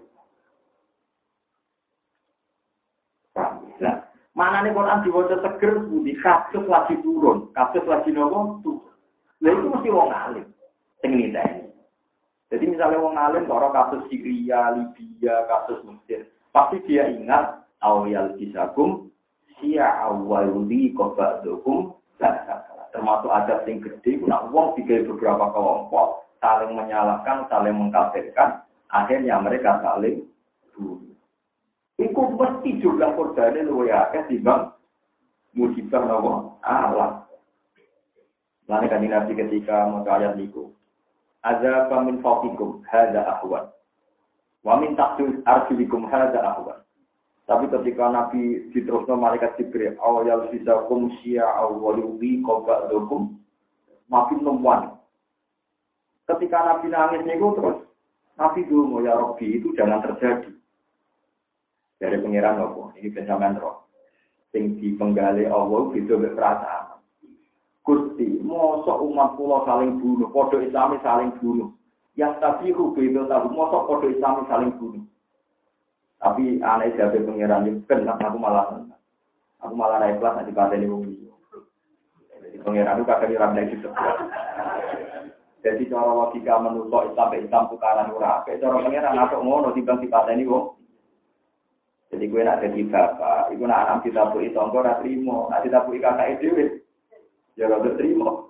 Nah, mana nih Quran diwaca seger, budi kasus lagi turun, kasus lagi nopo turun. Nah itu mesti wong alim, sing niteni. Jadi misalnya wong alim kalau kasus Syria, Libya, kasus Mesir, pasti dia ingat awal bisakum, sia awaludi kobadukum, termasuk ada sing gede, nak wong tiga beberapa kelompok saling menyalahkan, saling mengkafirkan, akhirnya mereka saling bunuh. Iku mesti jumlah korbannya luwih akeh timbang musibah nopo alam. Lalu kan Nabi ketika membaca ayat niku, azza min fawqikum hadza ahwan. Wa min tahti arjulikum hadza ahwan. Tapi ketika Nabi diterusno malaikat Jibril, awal sisakum syi'a wa yubi qaba'dukum makin lemwan. Ketika Nabi nangis niku terus Nabi dulu ya Rabbi itu jangan terjadi. Dari pengiran apa? Ini pencaman roh. Sing dipenggali Allah itu berperasaan. Gusti, mosok umat kula saling bunuh, padha Islami saling bunuh. Yang tadi rubedo tahu mosok padha Islami saling bunuh. Tapi aneh jabe pengiran itu kan aku malah aku malah ra ikhlas nanti pateni wong iki. Jadi pengiran itu kadang ora nek itu. Jadi cara logika menurut Islam Islam tukaran ora, kayak cara pengiran atok ngono timbang dipateni wong. Jadi gue nak jadi bapak, iku nak anak ditabuki tangga ora trimo, nak ditabuki kakake dhewe. Ya ora terima.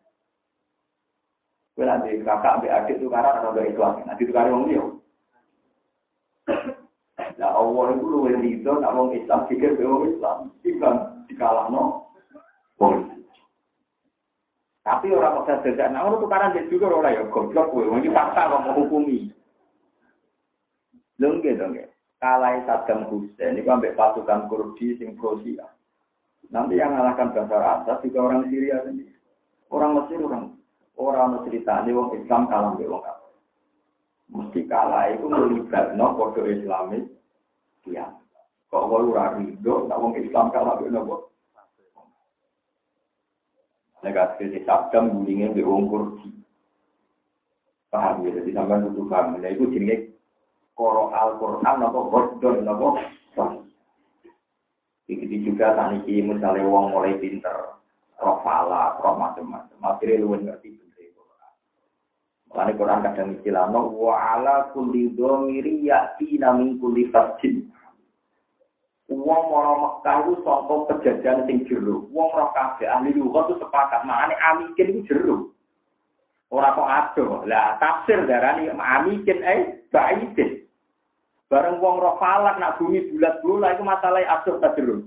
Gue nanti kakak ambil adik itu karena ada gak itu aja. Nanti itu karena orang dia. Nah Allah itu luwih rido, nak orang Islam pikir ke orang Islam. Tiba dikalah no. Tapi orang maksa sejak, nah orang itu karena dia juga orang ya goblok. Ini fakta orang mau hukumi. Lengge dong ya. Kalai Saddam Hussein, ini ambil pasukan Kurdi, sing Rusia. Nanti yang mengalahkan Bashar Assad juga orang Syria sendiri. Orang Mesir, orang orang cerita ini orang Islam kalah dengan orang kafir. Mesti kalah itu melibatkan kode Islamis. Ya, kalau orang ridho, orang Islam kalah dengan orang. Negatif di Saddam gulingnya di orang Kurdi. Paham ya? Jadi sampai itu paham. Nah itu jenis Qur'an Al-Quran atau Qur'an atau begitu juga saniki misalnya wong mulai pinter, roh fala, roh macam-macam. Akhirnya lu ngerti bener Quran. Mulane Quran kadang istilahno wa ala kulli dhamiri ya'tina min kulli fajjin. Wong ora Mekah iku saka pejajan sing jero. Wong ora kabeh ahli lughat itu sepakat makane amikin iku jero. Ora kok ado. Lah tafsir darani amikin eh baidin. Bareng wong roh falak nak bumi bulat-bulat itu masalah atur ta jero.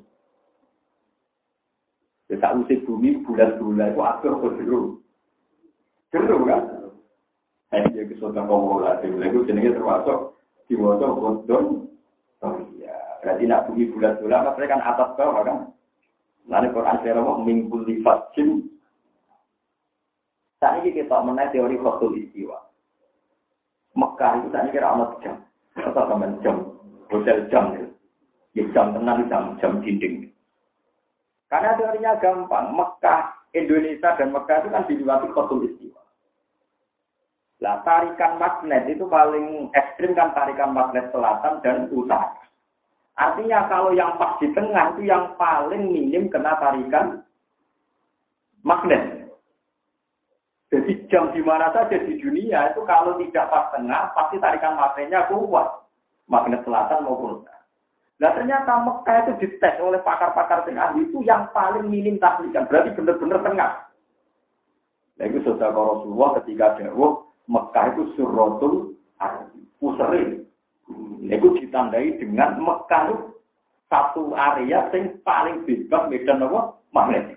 Ya tak usik bumi bulat-bulat itu atur ta jero. Jero kan? Saya dia kesotan komola itu jenenge termasuk diwaca godon. Oh iya, berarti nak bumi bulat-bulat maksudnya kan atas bawah kan. Lalu Quran sira mingkul lifajin. Saat ini kita mengenai teori khotul istiwa. Mekah itu saat ini kira amat jam. Atau teman jam, hotel jam, ya jam tenang, jam, jam dinding. Karena teorinya gampang, Mekah, Indonesia dan Mekah itu kan dilewati khotul istiwa. Lah tarikan magnet itu paling ekstrim kan tarikan magnet selatan dan utara. Artinya kalau yang pas di tengah itu yang paling minim kena tarikan magnet. Jadi jam di mana saja di dunia itu kalau tidak pas tengah, pasti tarikan magnetnya kuat. Magnet selatan maupun utara. Nah ternyata Mekah itu dites oleh pakar-pakar tengah itu yang paling minim tarikan. Berarti benar-benar tengah. Nah itu saudara Rasulullah ketika dawuh Mekah itu surrotul puseri. Itu ditandai dengan Mekah itu satu area yang paling bebas medan apa? Magnetik.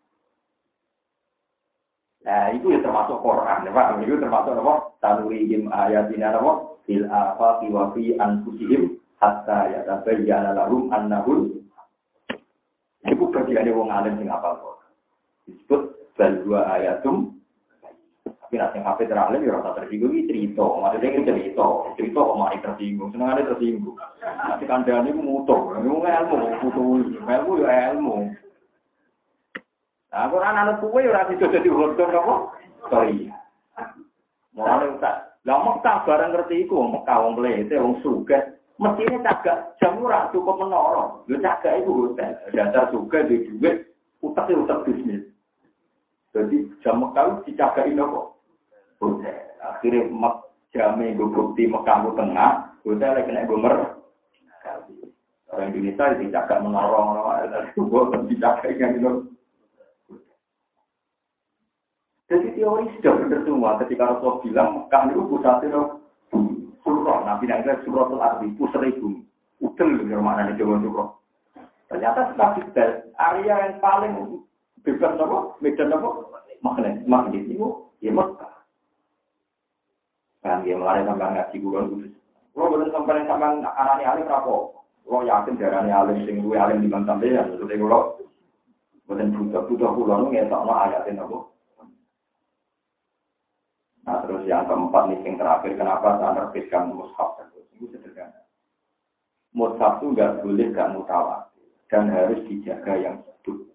Nah, itu ya termasuk Quran, ya Pak. Itu termasuk apa? Tanurihim ayatina apa? Fil afaqi wa fi anfusihim hatta yatabayyana lahum annahu. Itu bagian wong alim sing hafal Quran. Disebut bal dua ayatum. Tapi nek sing hafal teralim ya ora tersinggung iki cerita. Maksudnya iki cerita, cerita kok mari tersinggung, senengane tersinggung. Nanti kandhane ku mutu, ilmu ilmu, mutu, ilmu ya ilmu. Nah, Quran anu kuwe ora iso dadi hodon apa? Sorry. Mulane tak. Lah Mekah bareng ngerti iku, Mekah wong mlete, wong sugih, mestine cagak jam ora cukup menara. Lho cagak iku hotel, dasar sugih di dhuwit, utek-utek bisnis. Jadi jam Mekah dicagaki nopo? Hotel. Akhire mek jame nggo bukti Mekah ku tengah, hotel lek nek gomer. Orang Indonesia dicagak menara, kok dicagak kan itu. Jadi teori sudah benar semua ketika Rasulullah bilang Mekah itu pusatnya surah. Nabi Nabi surah al-Arbi pusatnya bumi. Udel dengan maknanya Jawa surah. Ternyata setelah detail area yang paling bebas apa? Medan apa? Makanya magnet itu ya Mekah. Kan dia melalui sampai ngaji bulan kudus. Kalau betul sampai sampai anaknya alim rapo, kalau yakin darahnya alim sing duwe alim di bang sampeyan, maksudnya kalau betul butuh butuh pulau nggak tahu ayatin apa. Nah terus yang keempat nih yang terakhir, kenapa saya menerbitkan mushaf itu sederhana. Mushaf itu nggak boleh nggak mutawatir dan harus dijaga yang hidup.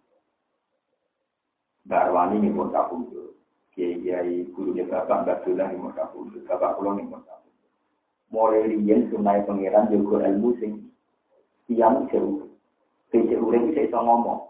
Mbak Arwani ini mushaf itu, kiai gurunya bapak Mbak Dula ini mushaf itu, bapak pulau ini mushaf itu. Mulai riyen sunai pangeran juga ilmu sing tiang jauh, jauh itu saya bisa ngomong.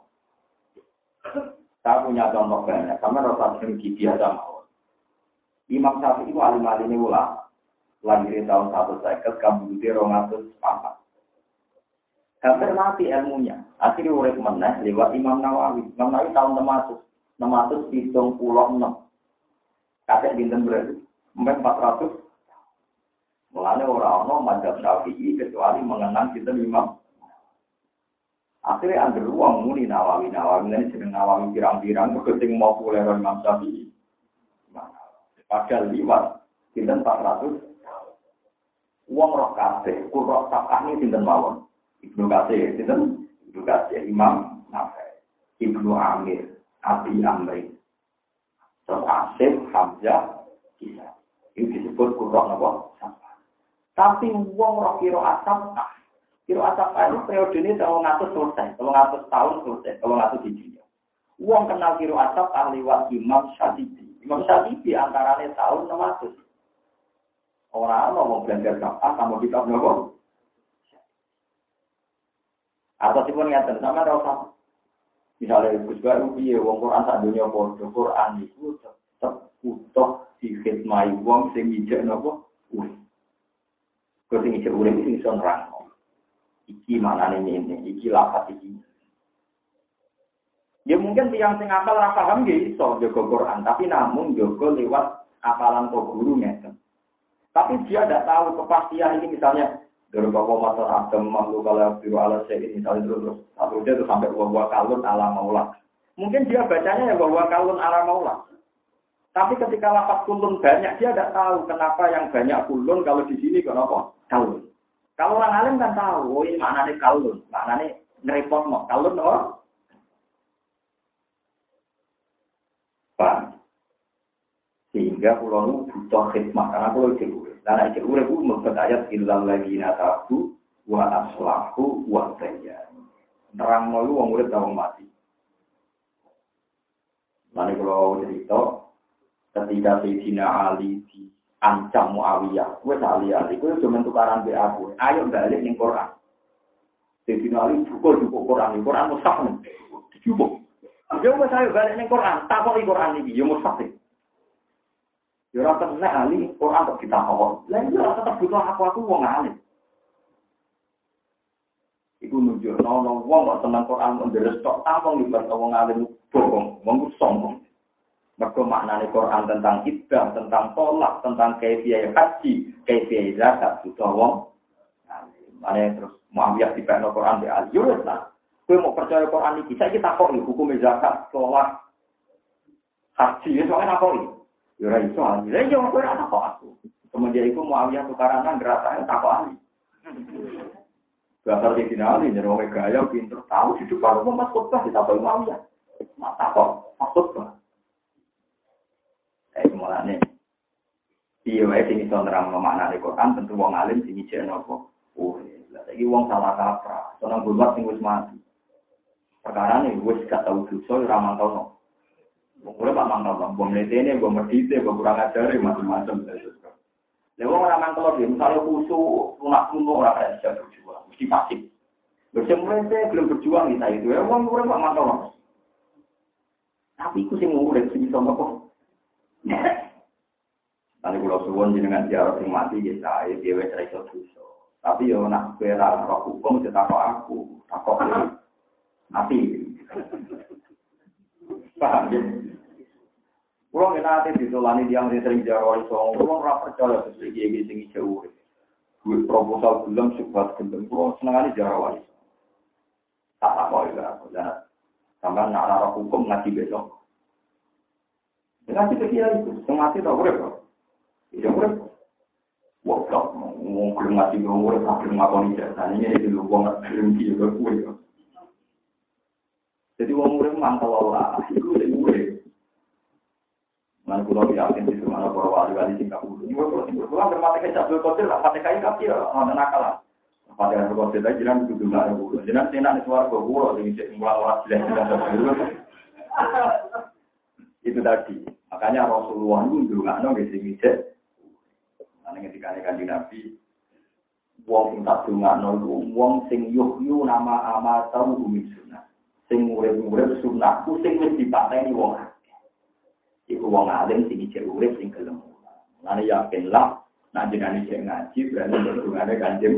Saya punya contoh banyak, sama rasa sering biasa mau. Imam Syafi'i itu alim-alim ini ulama. Lahir tahun satu seket, kamu di rongatus papat. Hampir mati ilmunya. Akhirnya urip meneh lewat Imam Nawawi. Imam Nawawi tahun enam ratus. enam ratus tujuh puluh enam. Kakek dinten berarti. empat ratus. Mulanya orang-orang mazhab Syafi'i kecuali mengenang kita Imam. Akhirnya ada ruang muni Nawawi. Nawawi ini sedang Nawawi pirang-pirang. Ketika mau populer Imam Syafi'i. Padahal liwat, sinten empat ratus. Uang roh kasih, kurok sapah ini sinten mawon. Ibnu Kasih, sinten Ibnu Kasih, Imam Nafi, Ibnu Amir, Abi Amri, terus Asim, Hamzah, Isa. Ini disebut kurok nopo sapah. Tapi uang roh kiro asap, kiro asap itu periode ini kalau ngatus selesai, kalau ngatus tahun selesai, kalau ngatus hijriah. Uang kenal kiro asap ahliwat Imam Syafi'i. Imam Syafi'i antaranya tahun enam ratus. Orang mau belajar kapan sama kitab nopo. Atau sih pun ngerti sama rasa. Misalnya Gus Baru piye wong Quran sak dunia padha Quran iku tetep utuh dikhidmati wong sing ijek nopo. Wis. Kok sing ijek urip sing iso nerangno. Iki manane ngene, iki lafaz iki. Ya mungkin tiang sing akal ora paham nggih iso jaga Quran, tapi namun jaga lewat apalan kok guru ngeten. Tapi dia tidak tahu kepastian ini misalnya dari bapak master Adam mamlu kalau biru ala saya ini misalnya terus terus satu dia itu sampai bahwa kalun ala maulah. Mungkin dia bacanya ya bahwa kalun ala maulah. Tapi ketika lafaz kulun banyak dia tidak tahu kenapa yang banyak kulun kalau di sini kenapa kalun. Kalau orang alim kan tahu, oh ini maknanya kalun, maknanya ngerepot mau kalun oh. Sehingga pulau itu butuh khidmat karena pulau itu urip. Karena itu urip itu membuat ayat illal ladzina tabu wa aslahu wa tayyib. Nerang malu wong urip ta wong mati. Mane kalau cerita ketika Sayyidina Ali diancam Muawiyah, wis ali-ali kowe cuma tukaran be aku. Ayo balik ning Quran. Sayyidina Ali cukup-cukup Quran, Quran mushaf. Cukup. Yo wis ayo balik ning Quran, takoki Quran iki yo mushaf. Ya ora kena ali Quran kok kita kok. Lah iya tetep butuh aku aku wong alim. Iku nunjukno ana wong kok seneng Quran nderes tok tampung libat wong alim bohong, wong sombong. Mergo maknane Quran tentang ibadah, tentang tolak, tentang kaifiyah haji, kaifiyah zakat butuh wong alim. Mane terus Muawiyah dipekno Quran be ali. Yo wis lah. Kowe mau percaya Quran iki, saiki takok iki hukum zakat, tolak, haji, wis kok takok. Ya ora iso ali. Lah yo kowe ora takok aku. Kemudian iku Muawiyah tukaran nang gerakan takok ali. Bakal di finali nyero gaya pinter tahu hidup kalau Mas Khotbah ditakok Muawiyah. Mak takok maksud eh mulane iya wae sing iso nerangno maknane Quran tentu wong alim sing ijeno apa. Oh, lha saiki wong salah kaprah, seneng bulat sing wis mati. Perkarane wis gak tau dosa ora mantau. Boleh pak mangkal bang, bom letene, bom medite, bom kurang ajari, macam-macam. Lewat orang mangkal dia, misalnya khusus, lunak lunak orang kaya bisa berjuang, mesti pasif. Berjemur saya belum berjuang di saya itu, ya uang kurang pak mangkal bang. Tapi aku sih ngurus sih sama kok. Nanti kalau suwon jenengan ziarah sing mati ya saya dia wes iso dosa. Tapi yo nak kira roh hukum cetakok aku, takok mati. Paham ya? Kalau kita nanti ditolani yang sering jarawali soal, kalau orang percaya sesuai gigi sing jauh, duit proposal belum sebuah gendeng, kalau senang kali jarawali. Tak apa ya, aku jangan sampai nak arah hukum ngaji besok. Ngaji ke kiai itu, semati tak urip kok. Iya urip. Wah, kok mau gelem ngaji wong urip tak gelem ngakoni jasa. Ini iki lho wong gelem iki yo kuwi. Jadi wong urip mantau Allah, iku sing urip. Mana pulau yakin di mana para wali-wali Singapura. Ini pulau Singapura bermata kecap dua kotor lah, mata kain kaki lah, mana nakal lah. Pada yang berkotor tadi jangan duduk nggak ada pulau. Jangan tenar di suara pulau, jadi cek mulai orang jelas jelas. Itu tadi. Makanya Rasulullah itu dulu nggak nong di sini cek. Mana ketika kanjeng Nabi, wong sing tak dongakno iku wong sing yuhyu nama ama tahu umi sunnah. Sing urip-urip sunnahku sing wis dipateni wong akeh. Iku wong alim sing ijek urip sing gelem. Lan yakinlah nek jenenge sing ngaji berarti hubungane kanjeng.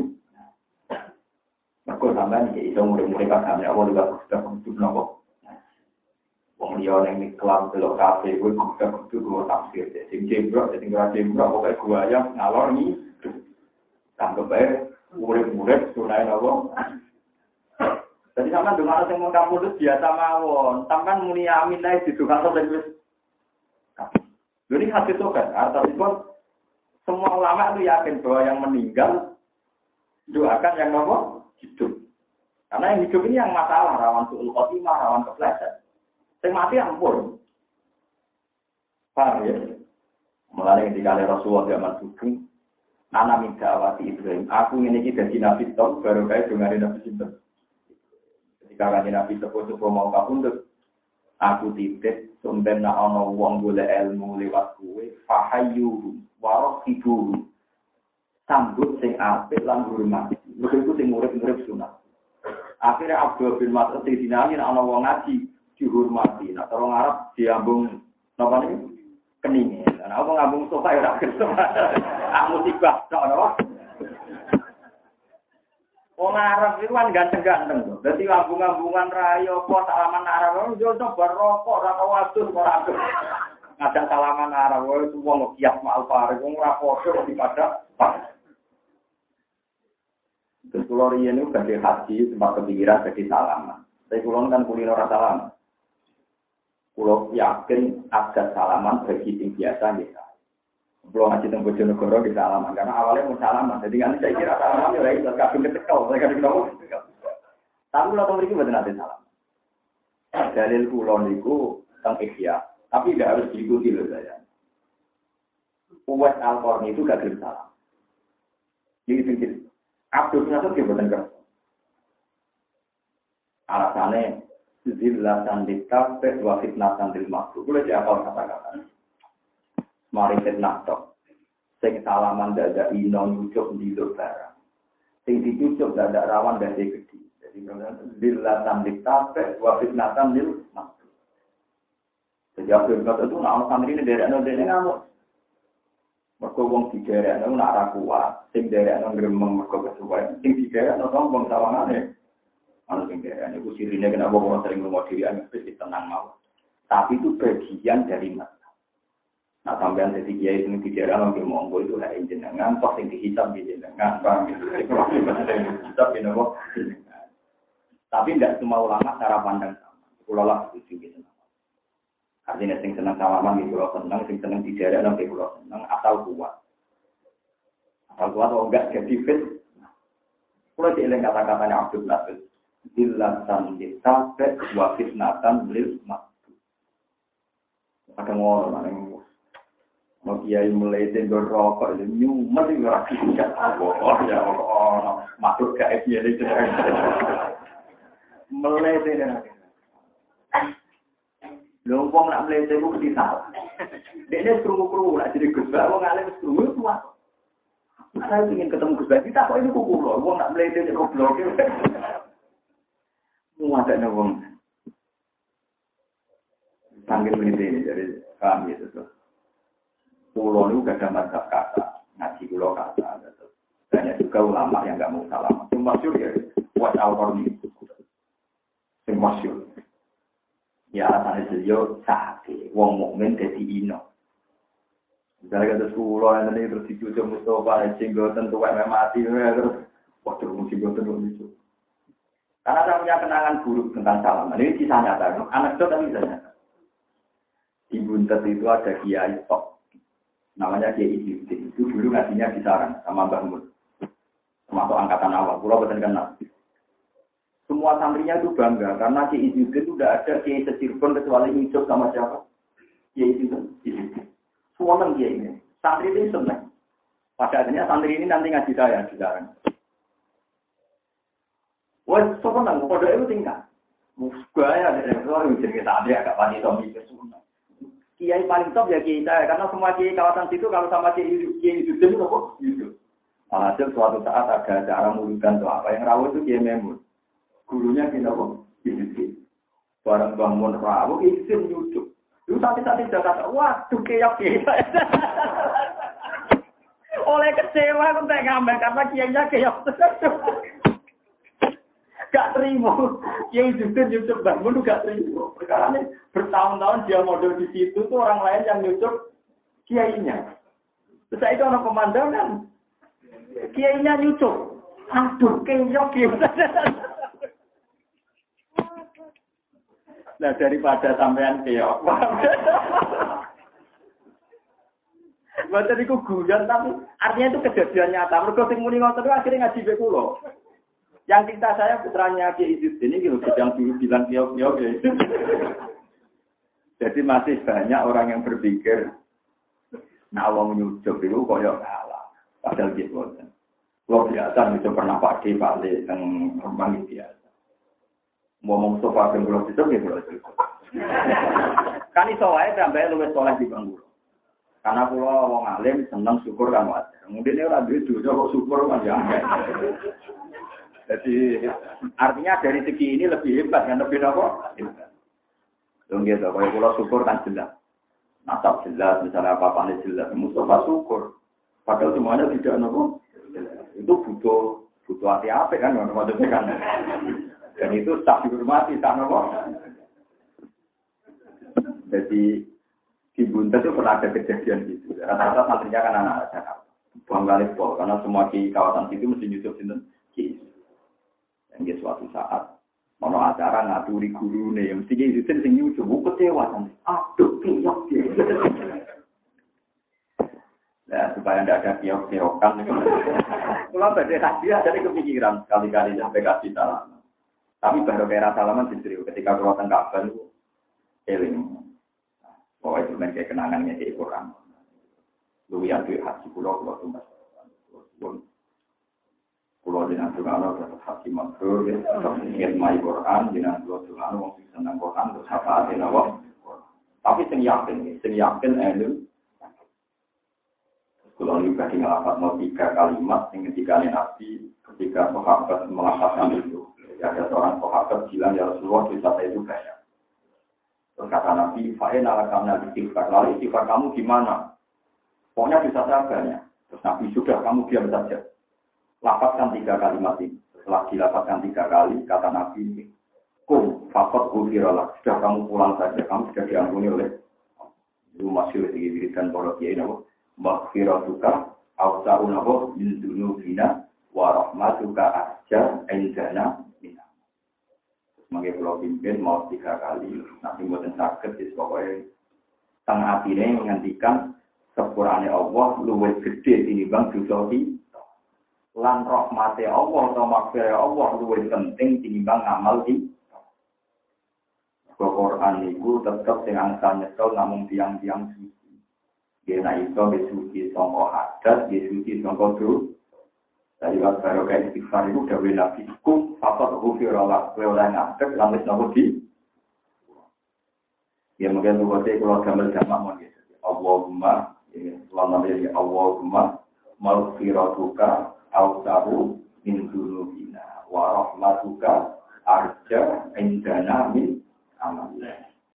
Maka sampeyan iki iso urip-urip kagame apa juga sudah kudu nopo. Wong liya ning kelam delok kafe kuwi kudu kudu tafsir. Sing jebrok sing ora jebrok pokoke gua ya ngalor ni. Tanggap bae urip-urip sunai nopo. Jadi sampean donga sing mung kamu itu biasa mawon. Sampean muni amin ae didongakno ben wis. Jadi hadis itu kan artinya semua ulama itu yakin bahwa yang meninggal doakan yang nopo hidup. Karena yang hidup ini yang masalah rawan suul khotimah, rawan kepleset. Sing mati ampun. Paham ya? Mulai ketika Rasulullah zaman sugeng ana minta awati Ibrahim. Aku ini iki dadi nabi tok baru kae dongane nabi sinten. Ketika kanjeng Nabi sepo-sepo mau kapundhut, aku titip sumben nek ana wong golek ilmu lewat kowe, fahayu warahibu. Sambut sing apik lan hormat. Mergo iku sing urip-urip sunah. Akhirnya Abdul bin Mas'ud dinani nek ana wong ngaji dihormati. Nek orang Arab diambung napa niki? Keninge. Nek apa ngambung sofa ya ora kerso. Ah musibah tok napa? Wong Arab itu kan ganteng-ganteng to. Dadi ngambung-ngambungan rayo apa salaman Arab yo coba rokok ora tau adus ora adus. Ngajak salaman Arab wae wong kias mal pare wong ora padha dipada. Terus kalau riyen itu badhe haji sempat kepikiran badhe salaman. Tapi kula kan kulino ora salaman. Kula yakin ada salaman bagi sing biasa nggih. Belum ngaji teng Bojonegoro di salaman karena awalnya mau salaman. Jadi kan saya kira salaman ya iso kadung ketekel, saya kadung nopo. Tapi kula teng mriki mboten ate salaman. Dalil kula niku teng Ihya, tapi tidak harus diikuti loh saya. Uwais Al-Qarni itu gak gelem salam. Jadi pikir Abdul bin Mas'ud mboten kersa. Alasannya zillatan ditafet wa fitnatan lil makhluk. Kula jawab kata-kata. Mari fitnah tok. Sing salaman dadak ino nyucuk ndiluk barang. Sing dicucuk dadak rawan dadi gedhi. Jadi zillatan ditafet wa fitnatan lil makhluk. Sejak Abdul itu nak santri ini derekno dene ngamuk. Mergo wong diderekno nak ra kuat, sing derekno gremeng mergo kesuwen, sing diderekno sombong sawangane. Ana sing derekno iku sirine kenapa wong sering ngomong dhewe anak wis tenang mau. Tapi itu bagian dari mata. Nah sampean dadi kiai sing diderekno nggih monggo itu hak jenengan, kok sing dihisab jenengan, paham gitu. Hisab jenengan. Tapi tidak semua ulama cara pandang sama. Kula lah setuju gitu. Artinya sing seneng salaman di pulau seneng, sing seneng di daerah nanti pulau seneng, asal kuat. Asal kuat atau enggak jadi fit. Pulau dieling kata-katanya Abdul Nasir. Dilatan ditafet wa fitnatan lil maktu. Ada orang yang mau kiai mulai tengok rokok itu nyumet itu lagi tidak oh ya oh masuk ke F Y L itu mulai tengok. Lompong nak meleset itu mesti salah. Dia seru-seru nak jadi Gus Bak, wong alim seru itu kuat. Saya ingin ketemu Gus Bak, kita kok ini kuku loh, wong nak meleset itu goblok. Mau ada wong. Panggil meleset ini dari kami itu tuh. Pulau itu gak ada mazhab kata, ngaji pulau kata. Banyak juga ulama yang gak mau salam. Yang masyur ya, buat Al-Qarni. Yang masyur. Ya alasannya beliau sakit, wong mukmin dadi ino. Misalnya kata sekolah yang tadi terus dicucuk Mustafa, jenggotan tuwek mati, terus waktu jenggotan lucu. Karena saya punya kenangan buruk tentang salaman. Ini kisah nyata, anak itu tapi kisah nyata. Ibu Buntet itu ada kiai top. Namanya Kiai Izzuddin. Itu dulu ngajinya di Sarang sama Mbah Mun. Termasuk angkatan awal. Pulau betul kenal. Semua santrinya itu bangga karena Kiai Izzuddin itu tidak ada Kiai Cirebon kecuali hidup sama siapa? Kiai Izzuddin. Semua orang Kiai ini. Santri itu senang. Pada akhirnya santri ini nanti ngaji saya di Sarang. Wah, senang. Kode itu tingkat. Musgaya dari orang yang jadi santri agak pasti Tommy itu semua. Kiai paling top ya Kiai saya, karena semua Kiai kawasan situ kalau sama Kiai Kiai itu itu kok gitu. Alhasil suatu saat ada acara mulutan atau apa yang rawuh itu Kiai Memun. Gurunya Kiai apa? Kiai. Barang bangun rawuh Kiai nyucuk. Lu santai-santai sudah kata, waduh Kiai Kiai. Oleh kecewa aku tak ngambil karena Kiainya Kiai. Gak terima. Kiai Izzuddin nyucuk bangun gak terima. Perkara ini bertahun-tahun dia model di situ tuh orang lain yang nyucuk kiainya. Terus itu orang pemandangan kiainya nyucuk. Aduh, kenyok gitu. Nah daripada sampean keok. Bukan itu guyon tapi artinya itu kejadian nyata. Mergo sing muni ngoten akhirnya ngaji be kula. Yang cinta saya putranya Kiai Izzuddin ini gitu, yang dulu bilang kiok-kiok gitu. Jadi masih banyak orang yang berpikir, nah Allah menyujuk itu kok ya kalah. Padahal gitu. Luar biasa, itu pernah Pak D, Pak D, yang rembang biasa. Ngomong sofa yang belum itu, ya belum itu. Kan itu aja sampai luwes soleh di bangku. Karena kalau orang alim senang syukur kan wajar. Mungkin ini orang duit juga kok syukur kan ya. Jadi artinya dari segi ini lebih hebat kan, lebih apa? Hebat. Dong gitu, kalau pulau syukur kan jelas. Nasab jelas, misalnya apa-apa ini jelas. Mustafa syukur. Padahal semuanya tidak nopo. Itu butuh butuh hati-hati kan, maksudnya kan. Dan itu tak dihormati, tak nopo. Jadi di Buntet itu pernah ada kejadian gitu. Rata-rata santrinya kan anak-anak Jakarta. Buang kali pol, karena semua di kawasan situ mesti nyusup sinten Kiai. Dan di suatu saat mau acara ngaturi guru nih, mesti Kiai Izzuddin sing nyusup, kecewa kan. Aduh, kiok kiok. Nah, supaya tidak ada kiok-kiokan. Kalau pada hadiah dari kepikiran sekali-kali sampai kasih salaman. Tapi baru kira salaman justru ketika keluar tengah baru eling. Oh itu kan kayak kenangannya di Quran. Lu yang duit haji pulau pulau tumbas. Pulau di Nantuano dapat haji mabrur, ingin mai Quran di Nantuano wong senang Quran terus apa ada nawa. Tapi sing yakin, sing yakin elu. Kalau juga ngelapat mau tiga kalimat, yang ketika Nabi ketika sahabat melafazkan itu, ada seorang sahabat bilang ya Rasulullah dosa saya itu banyak. Terus kata Nabi, "Fa'in ala kamna istighfar." Lalu istighfar kamu gimana? Pokoknya dosa saya banyak. Terus Nabi sudah kamu diam saja. Lapatkan tiga kalimat ini. Setelah dilapatkan tiga kali, kata Nabi ini, "Kum faqad ghufiralak." Sudah kamu pulang saja, kamu sudah diampuni oleh itu masih diberikan para kiai nabo. Maghfiratuka awsa'un nabo min dzunubina wa rahmatuka ahja indana minna. Sebagai pulau pimpin mau tiga kali, nanti buatan sakit, jadi pokoknya tengah hatinya menghentikan sepurane Allah luwih gede tinimbang dosa kita. Lan rahmate Allah atau maghfirah Allah luwih penting tinimbang amal kita. Quran itu tetap sing angsal nyekel namung tiang-tiang suci. Dia iso besuci sangka hadat, besuci sangka dosa. Dari waktu baru kayak istighfar itu udah wena fiskum, faktor hufirullah, wela ngadek, lamis nopo di. Ya mungkin tuh saya kalau gambar jamak mau gitu. Allahumma, ini selama ini Allahumma, maghfiratuka, awsahu min dzunubina, wa rahmatuka, arja indana min.